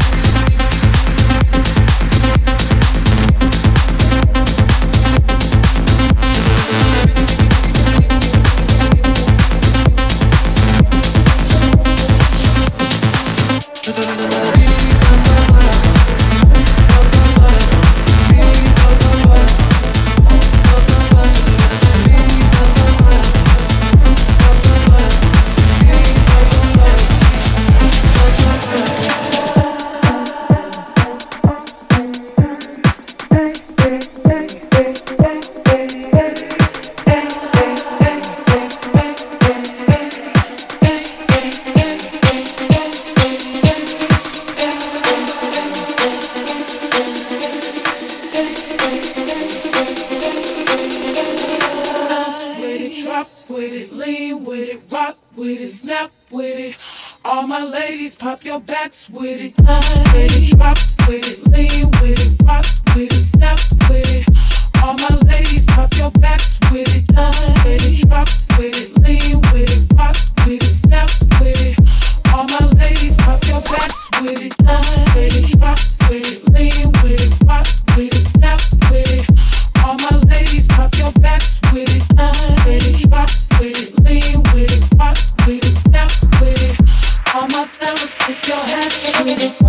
pop your backs with it, with it, drop with it, lean with it, rock with it, snap with it. All my ladies, pop your backs with it, with it, drop with it, lean with it, rock with it, snap with it. All my ladies, pop your backs with it, with it, drop with it, lean with it, rock with it, snap with it. All my ladies, pop your backs with it, with it, drop with it, lean with it, rock with it, snap with it. All my fellas, take your hats with it.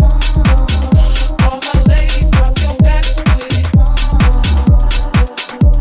All my ladies, pop your backs with it.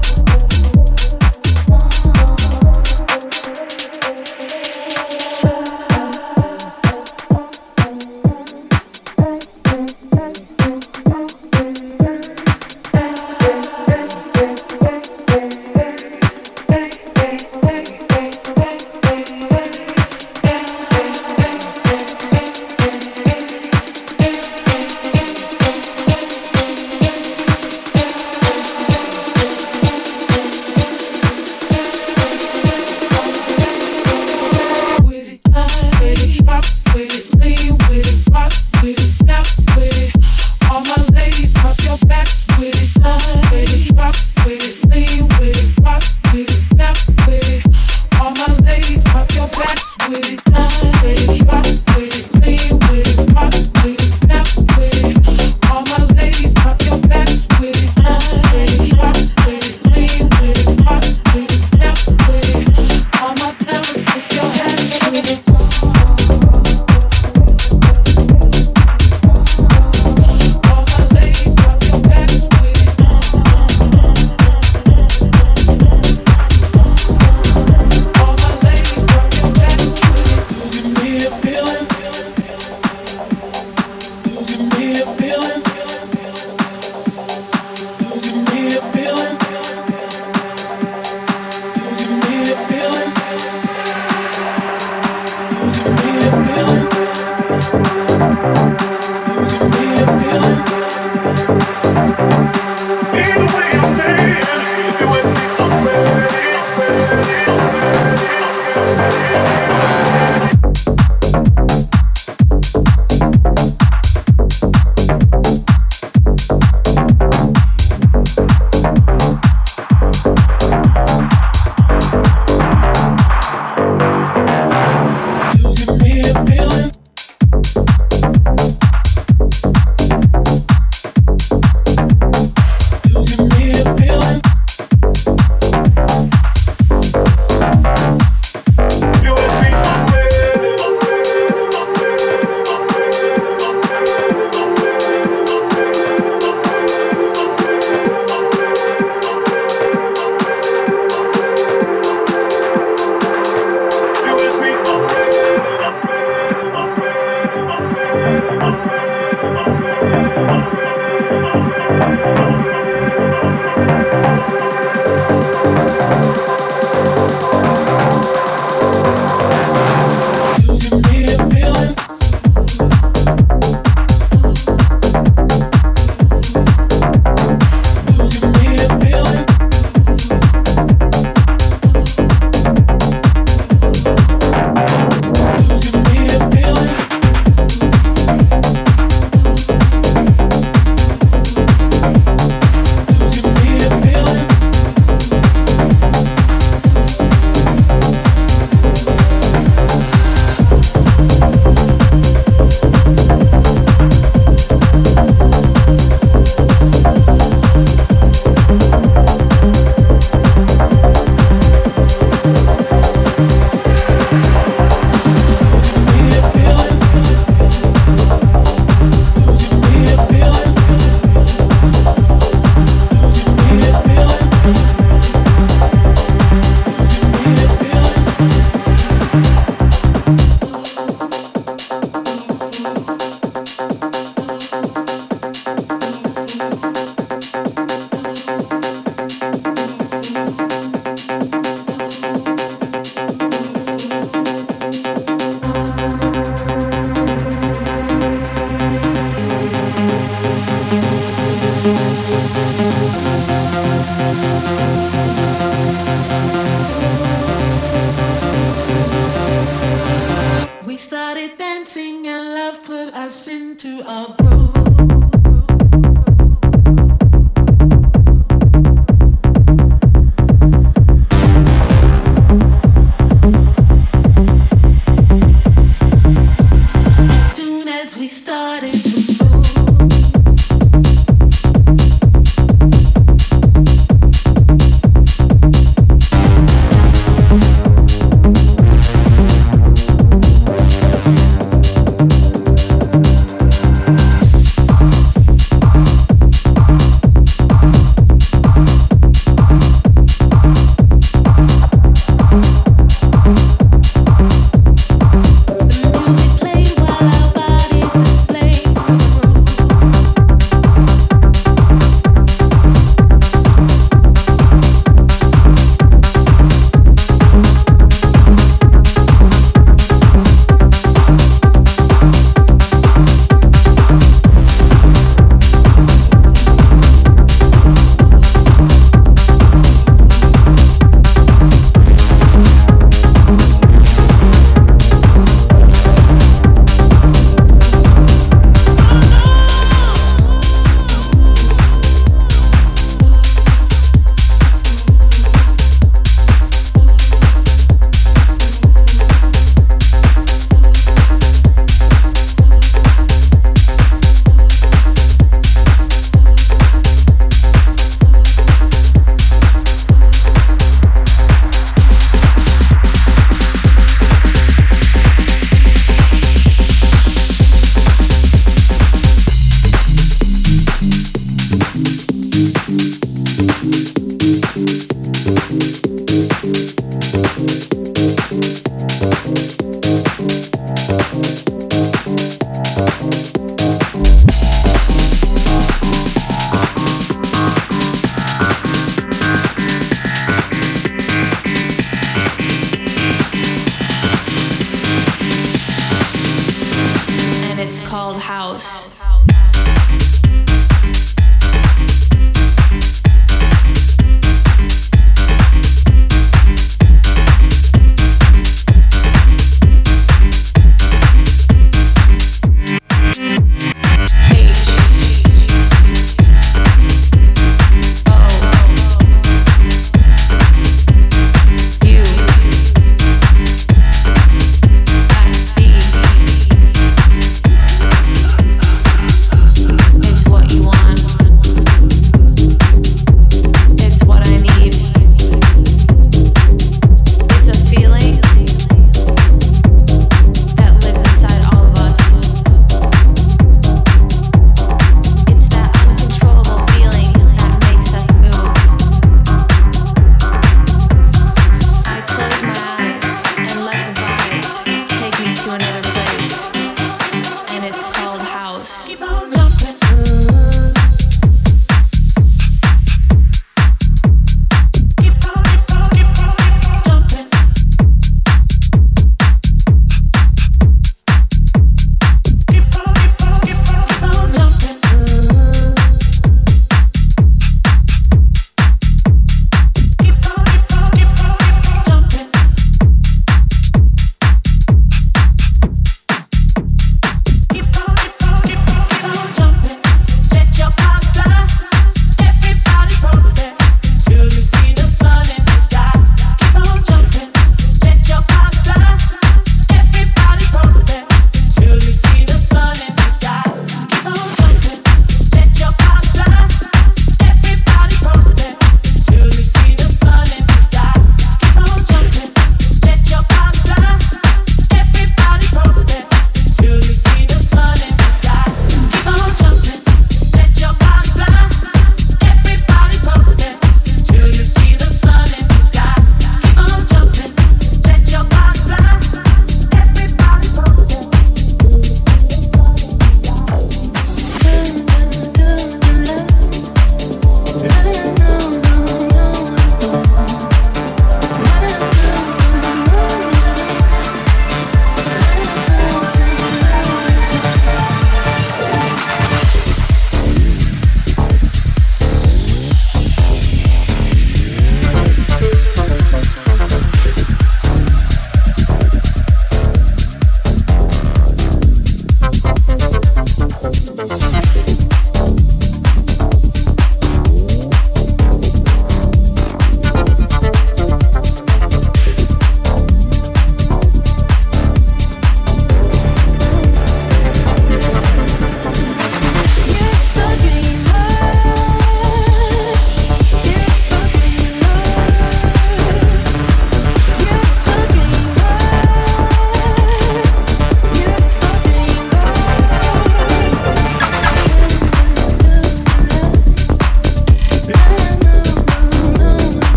us into a groove. As soon as we started to move.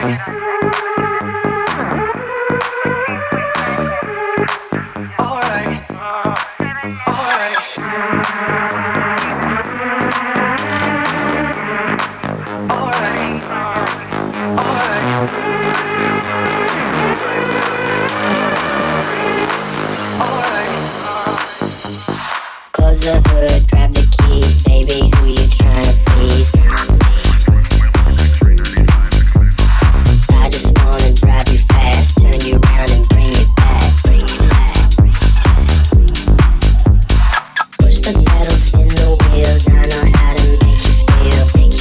Close the hood, grab the keys, baby, who you tryna please? I just wanna drive you fast, turn you around and bring it back. Push the pedal, spin the wheels, I know how to make you feel.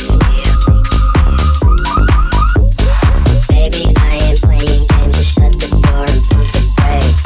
Baby, I ain't playing games, just shut the door and pump the brakes.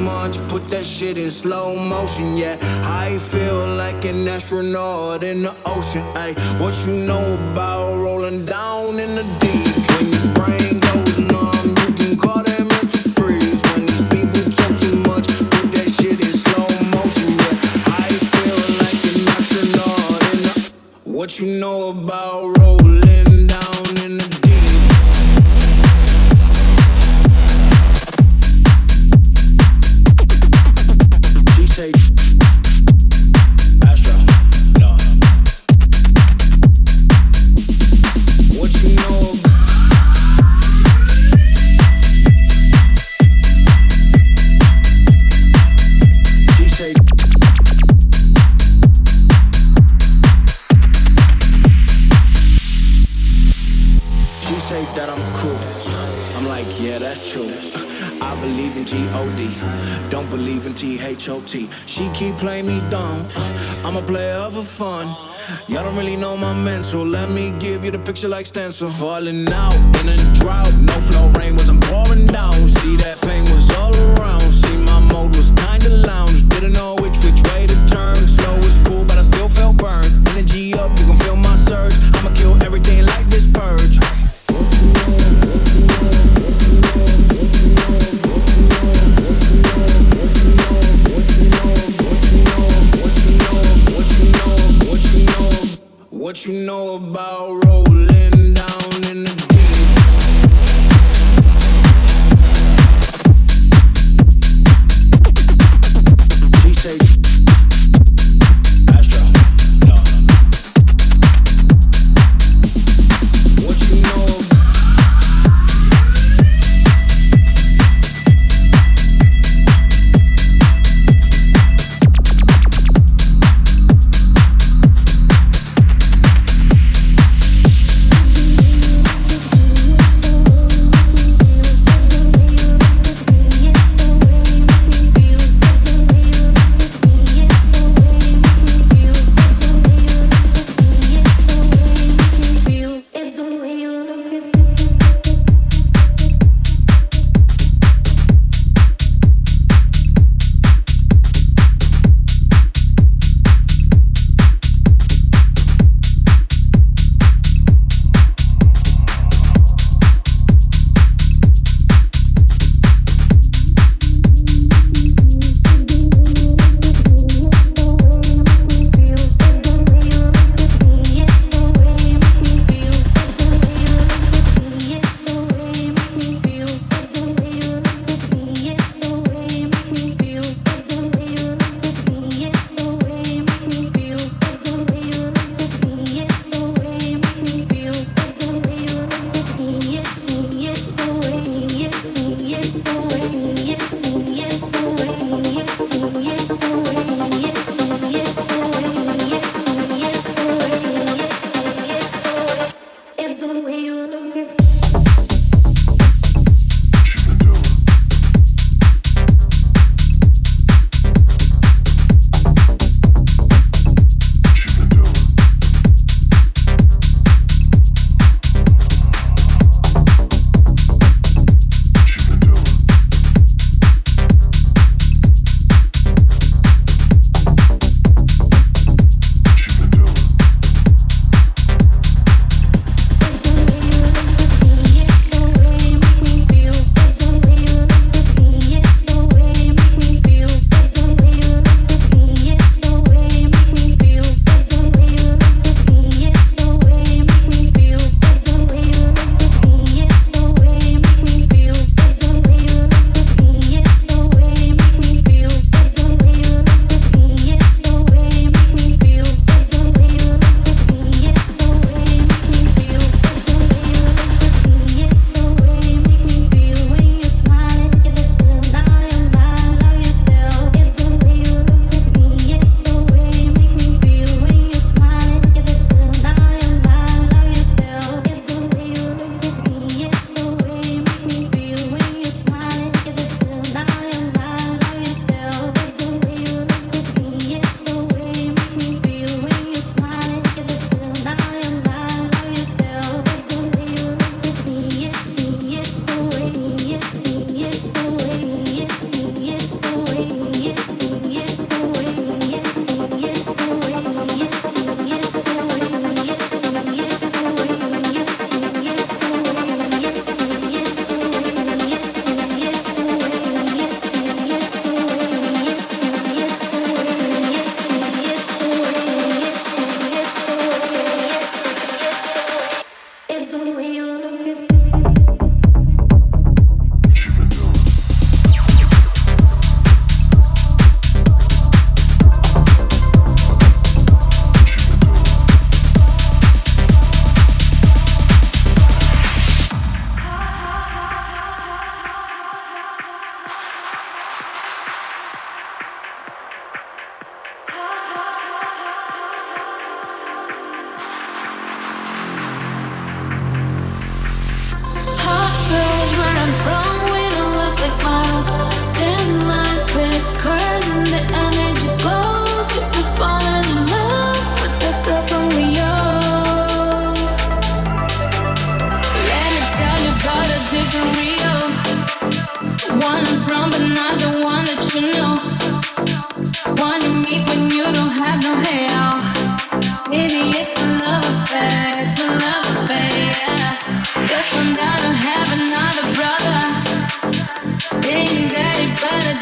much, put that shit in slow motion, yeah. I feel like an astronaut in the ocean, ayy. What you know about rolling down in the deep? When your brain goes numb, you can call that mental freeze. When these people talk too much, put that shit in slow motion, yeah. I feel like an astronaut in the... What you know about rolling down in the deep? Astro, no. What you know? She say. She say that I'm cool. I'm like, yeah, that's true. I believe in G-O-D, don't believe in T-H-O-T. She keep playing me dumb, I'm a player for fun. Y'all don't really know my mental, let me give you the picture like stencil. Falling out in a drought, no flow, rain wasn't pouring down. See that pain was all around, see my mode was kinda lounge. Didn't know which way to turn, flow was cool but I still felt burned. Energy up, you can feel my surge, I'ma kill everything like this purge. What you know about rolling down in the deep? She say, Astro, no. What you know?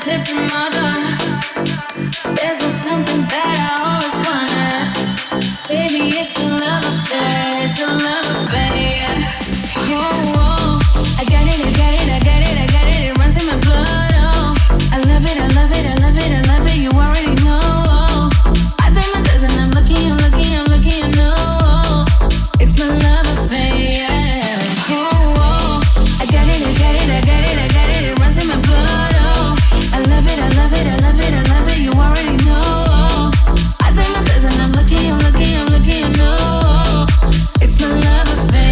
different mother. There's just something that I always wanted. Baby, it's a love affair, it's a love affair. Yeah. Oh, oh, I got it, I got it, I got it, I got it. It runs in my blood. Oh, I love it, I love it, I love it, I love it. You already know. Oh, I take my dozen, I'm looking, I'm looking, I'm looking, I know. Oh, it's my love affair. Yeah. Oh, oh, I got it, I got it, I got it, I got it. It runs in my blood. Oh, I love it, I love it, I love it, I love it. You already know. Oh, I take my dozen, I'm looking, I'm looking, I'm looking, I know. Oh, it's my love affair.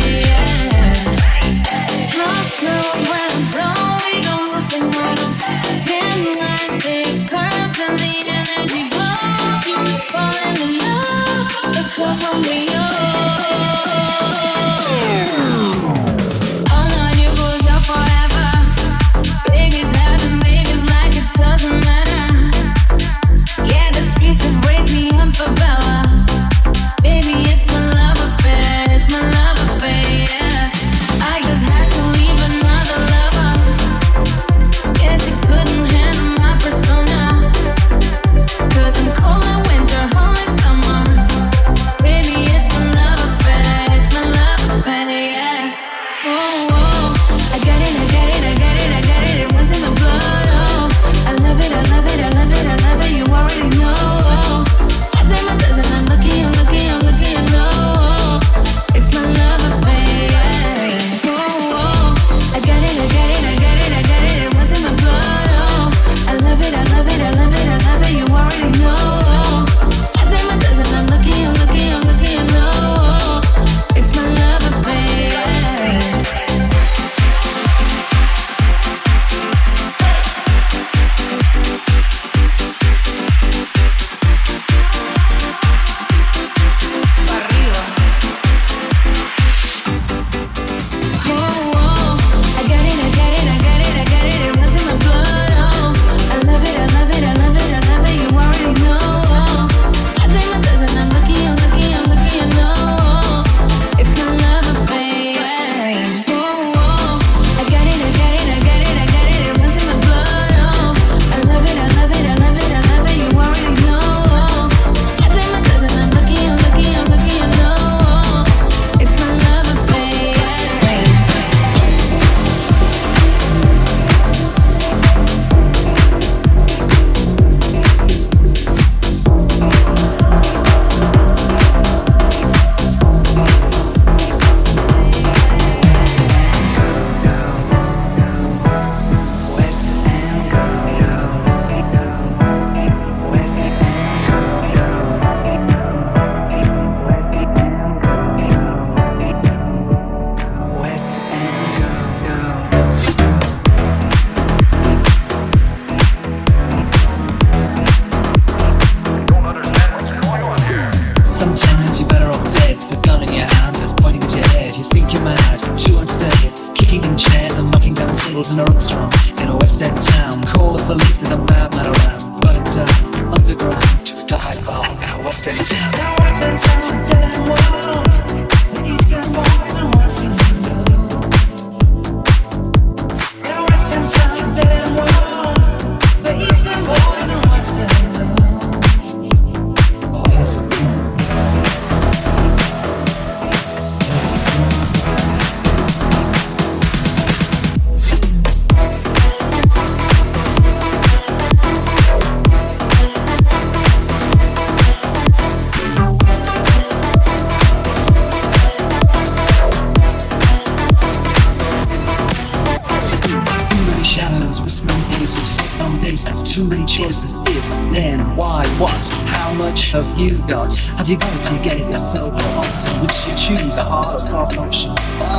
Lost knows when I'm wrong, we don't look the good. Dim lights, big curves, and the energy glows. You falling in love, the club from Rio. Oh no, you go up forever. Baby's heaven, baby's like it doesn't matter. Yeah, the streets have raised me up for Bella. Baby, it's my love affair, it's my love affair. Yeah. I just had to leave another lover. Guess he couldn't handle my persona. 'Cause I'm cold in winter, hot in summer. Baby, it's my love affair, it's my love affair. Yeah. Oh, oh, I got it, I got it, I got it, I got it. It runs in my blood. Oh, I love it, I love it, I love it, I love it. You already know. Oh, I take my dozen, I'm looking, I'm looking, I'm looking, I know. Oh, it's my love affair. Yeah. Oh, oh, I got it, I got it, I got it, I got it. It runs in my blood. Oh, I love it, I love it, I love it, I love it. You already know. Oh, I take my dozen, I'm looking, I'm looking, I'm looking, I know. Oh, it's my love affair. Yeah. Sometimes you're better off dead with a gun in your hand that's pointing at your head. You think you're mad, but you won't stay. Kicking in chairs and knocking down tables in a restaurant in a West End town. Call the police, there's a madman around. Burning down underground to hide from a West End town. The West End town, dead and wild. The East End boys and West End girls. The West End town, dead and wild. The East End boys and West End girls. West End. Too many choices, if, then, why, what, how much have you got? Have you got it, you get it yourself, or often would you choose a hard or soft option?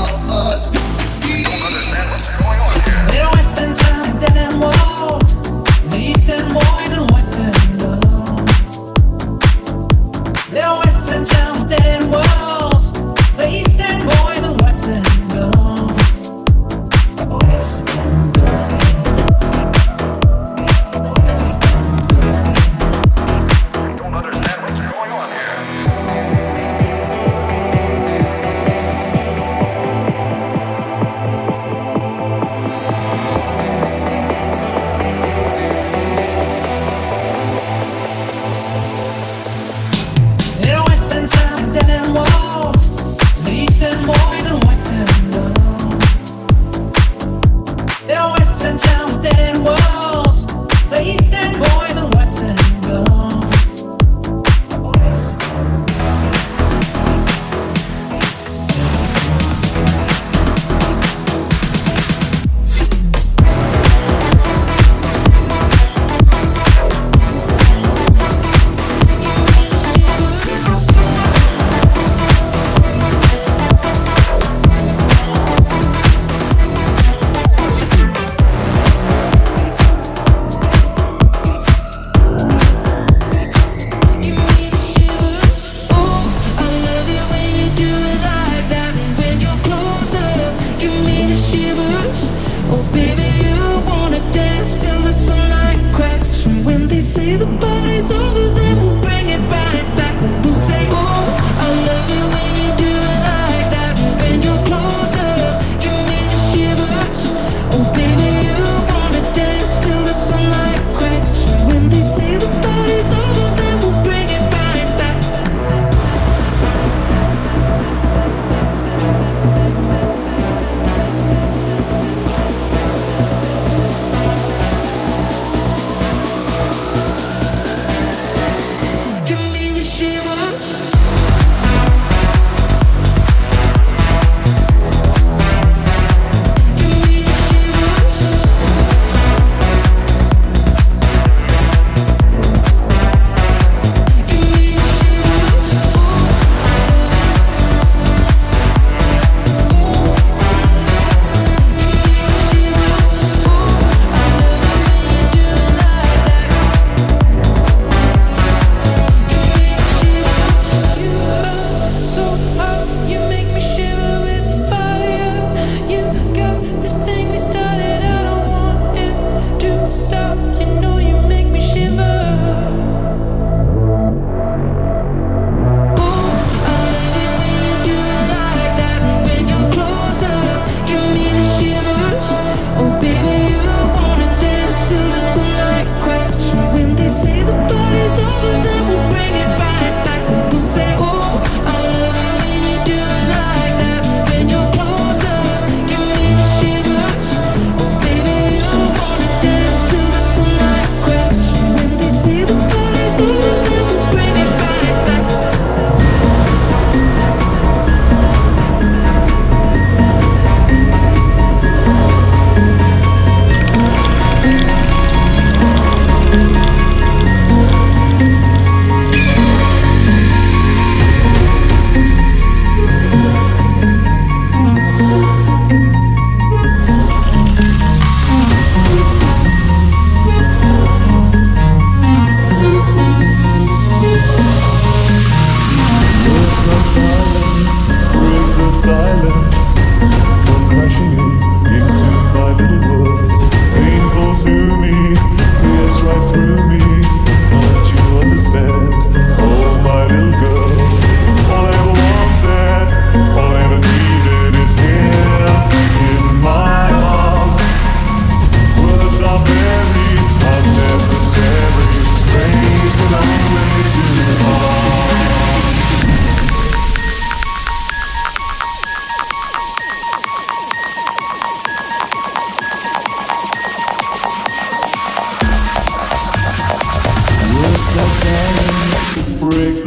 The Western town, dead and wild. The Eastern boys and Western girls. The Western town, dead and wild. The Eastern boys and Western girls. Western girls.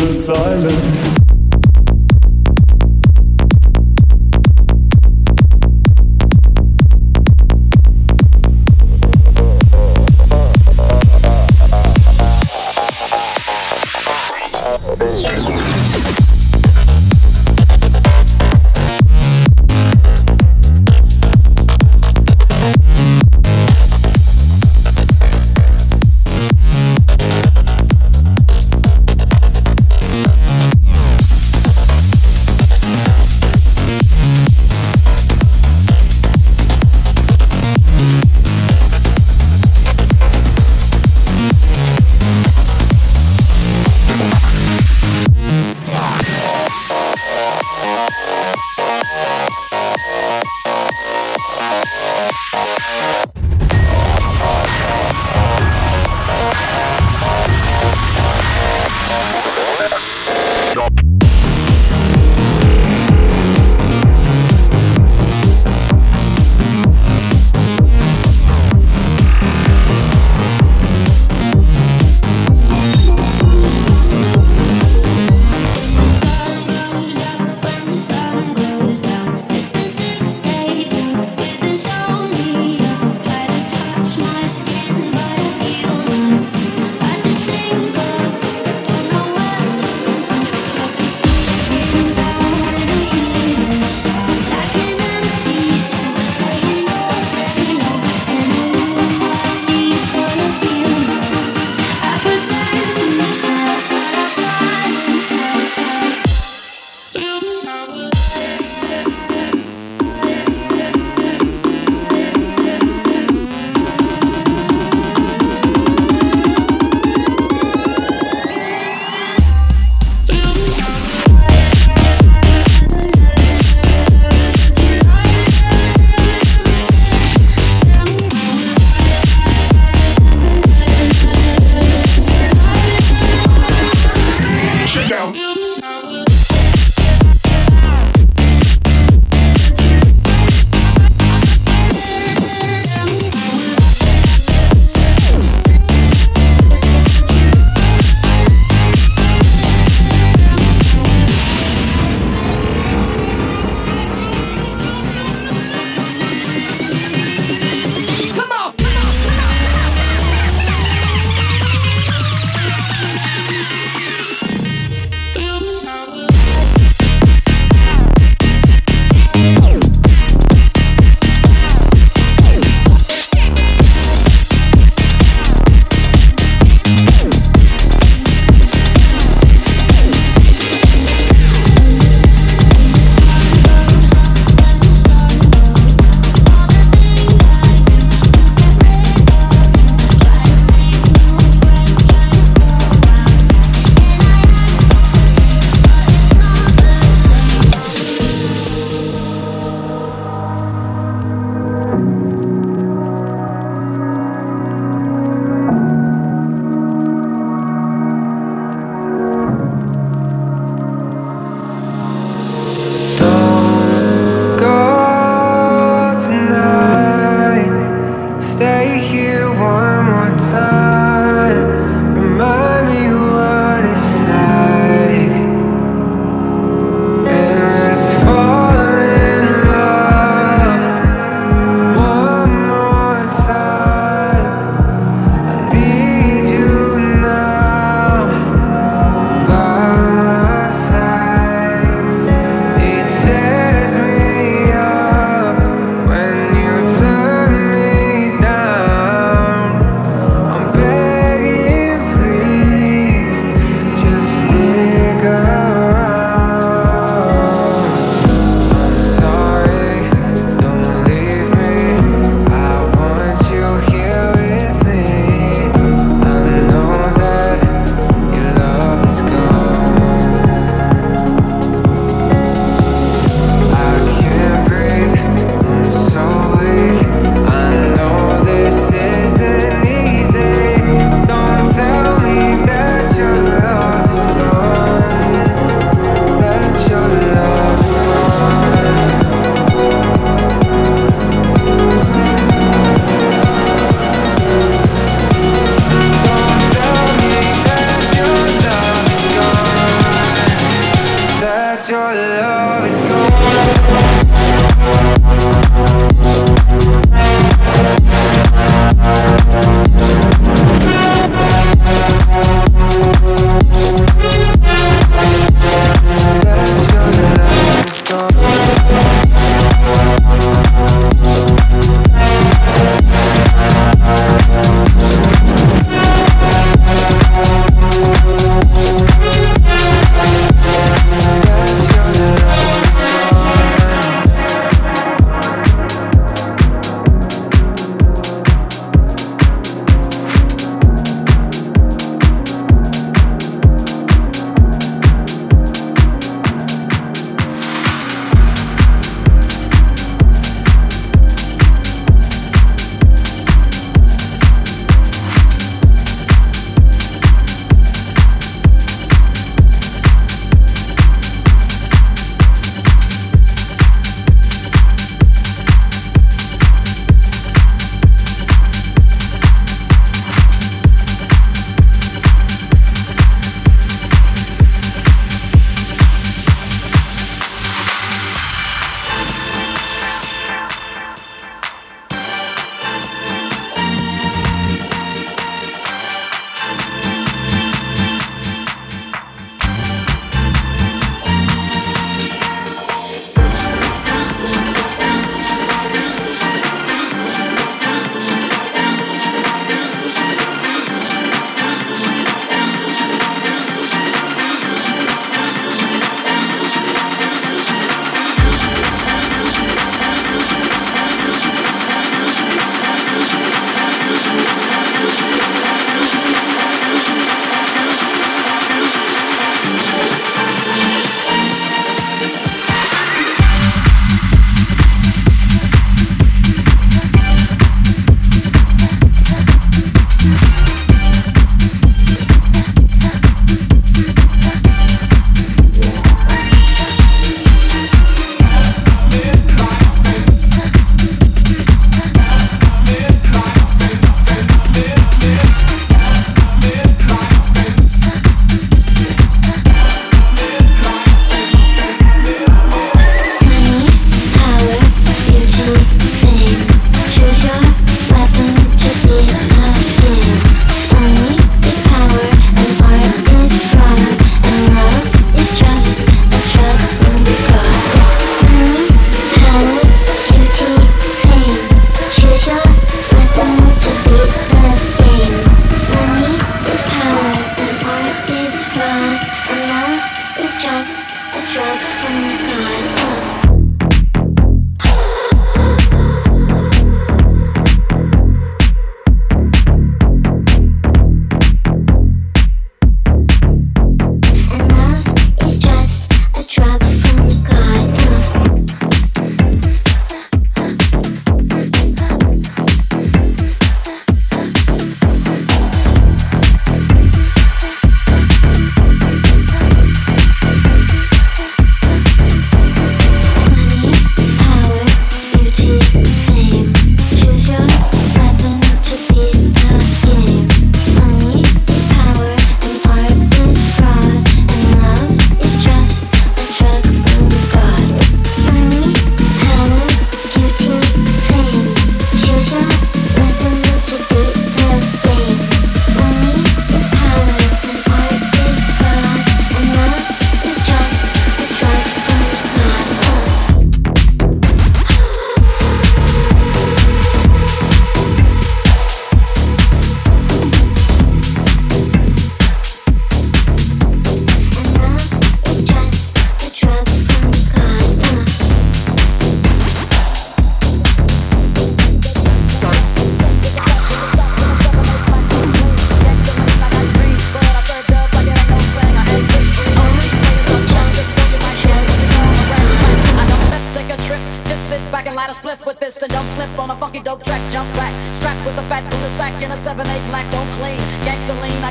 the silence.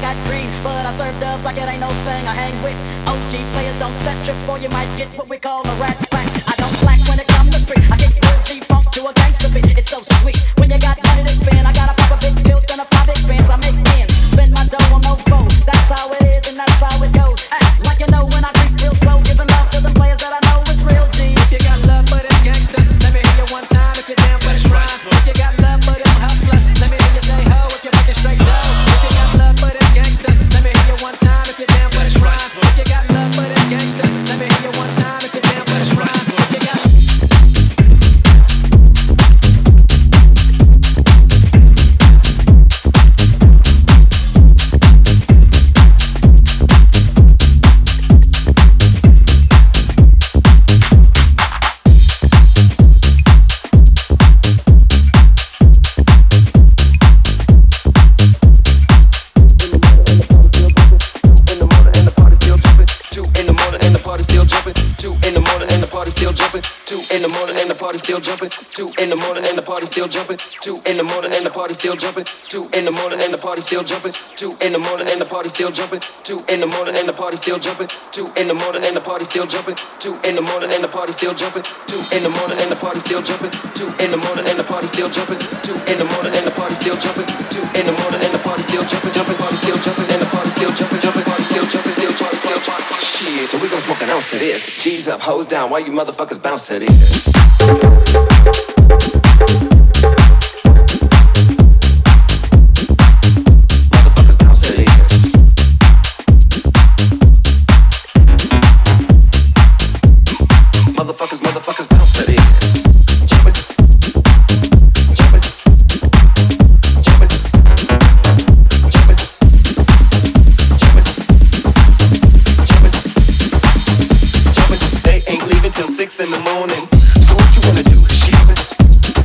got green, but I serve dubs like it ain't no thing. I hang with OG players, don't set trip or you might get what we call a rat pack. I don't slack when it comes to free. I get real G-funk to a gangster beat. It's so sweet. When you got money to spend, I got a pop a big tilt and a pop big bands. I make ends, spend my dough on no foe. That's how it is and that's how it goes. Like you know when I creep real slow, giving love to the players that I know is real G. If you got love for them gangsters, let me hear you one time. If you're down for the rhyme, if you got love for them hustlers, let me hear you say ho. If you're making straight dough, if you got love for them gangsters, let me hear you one time. If you're down for the rhyme, if you got love for them gangsters, let me hear you one time. If you're down for the rhyme, if you got still jumping. 2 in the morning and the party still jumping. 2 in the morning and the party still jumping. 2 in the morning and the party still jumping. 2 in the morning and the party still jumping. 2 in the morning and the party still jumping. 2 in the morning and the party still jumping. 2 in the morning and the party still jumping. 2 in the morning and the party still jumping. 2 in the morning and the party still jumping. 2 in the morning and the party still jumping. 2 in the morning and the party still jumping. Jumping, party still jumping and the party still jumping. Jumping, party still jumping. Still jumping. Shit, so we gon' smoke an ounce of this. G's up, hoes down. Why you motherfuckers bounce to this? In the morning, so what you wanna do? Ship it.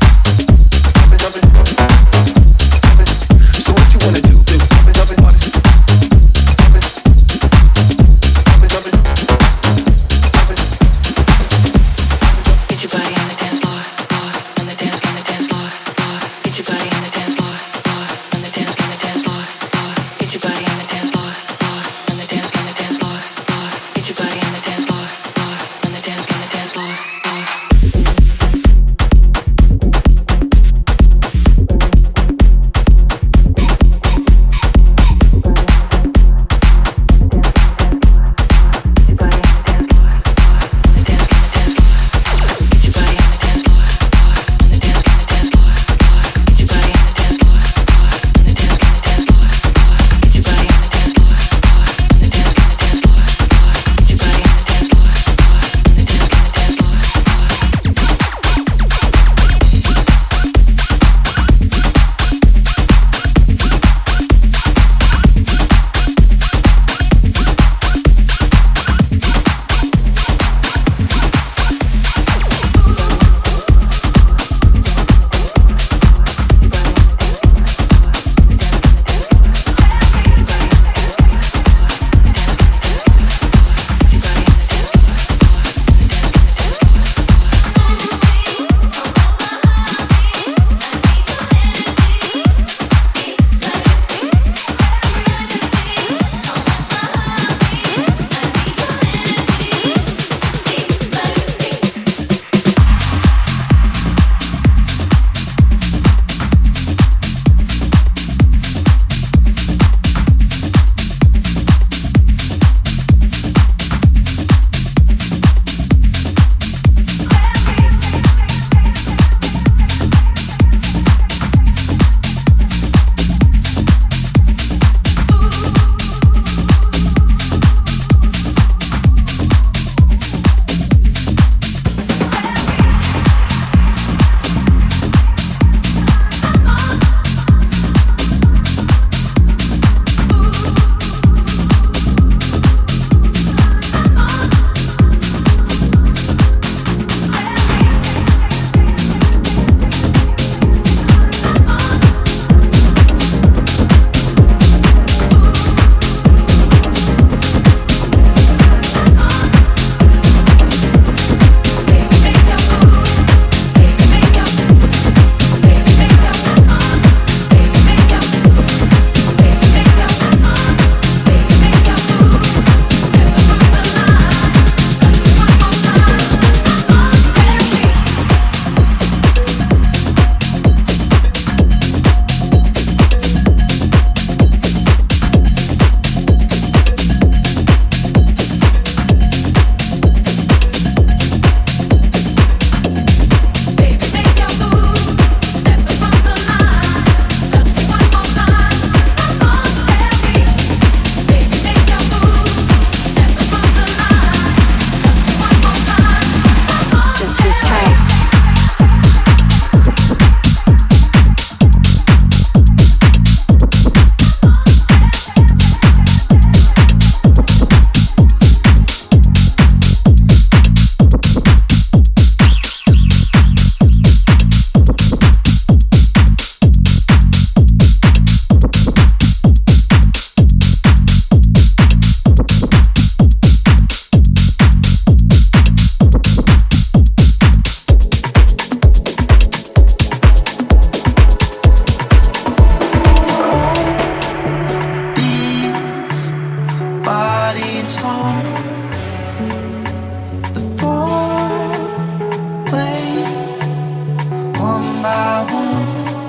the four-way, one by one.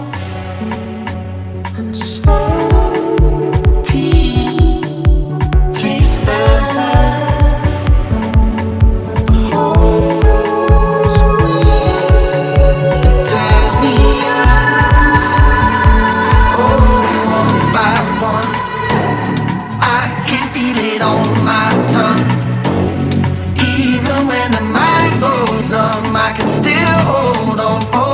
Salty taste of love holds me, tears me up. Oh, one by one, I can feel it on my tongue. Even when the mind goes numb, I can still hold on for